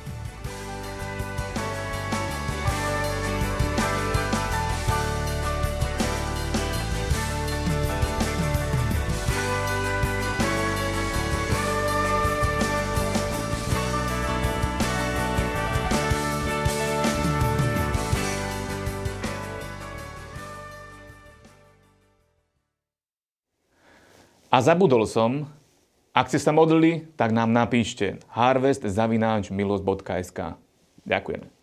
A zabudol som, ak ste sa modlili, tak nám napíšte harvest zavináč milosť bodka es ka. Ďakujeme.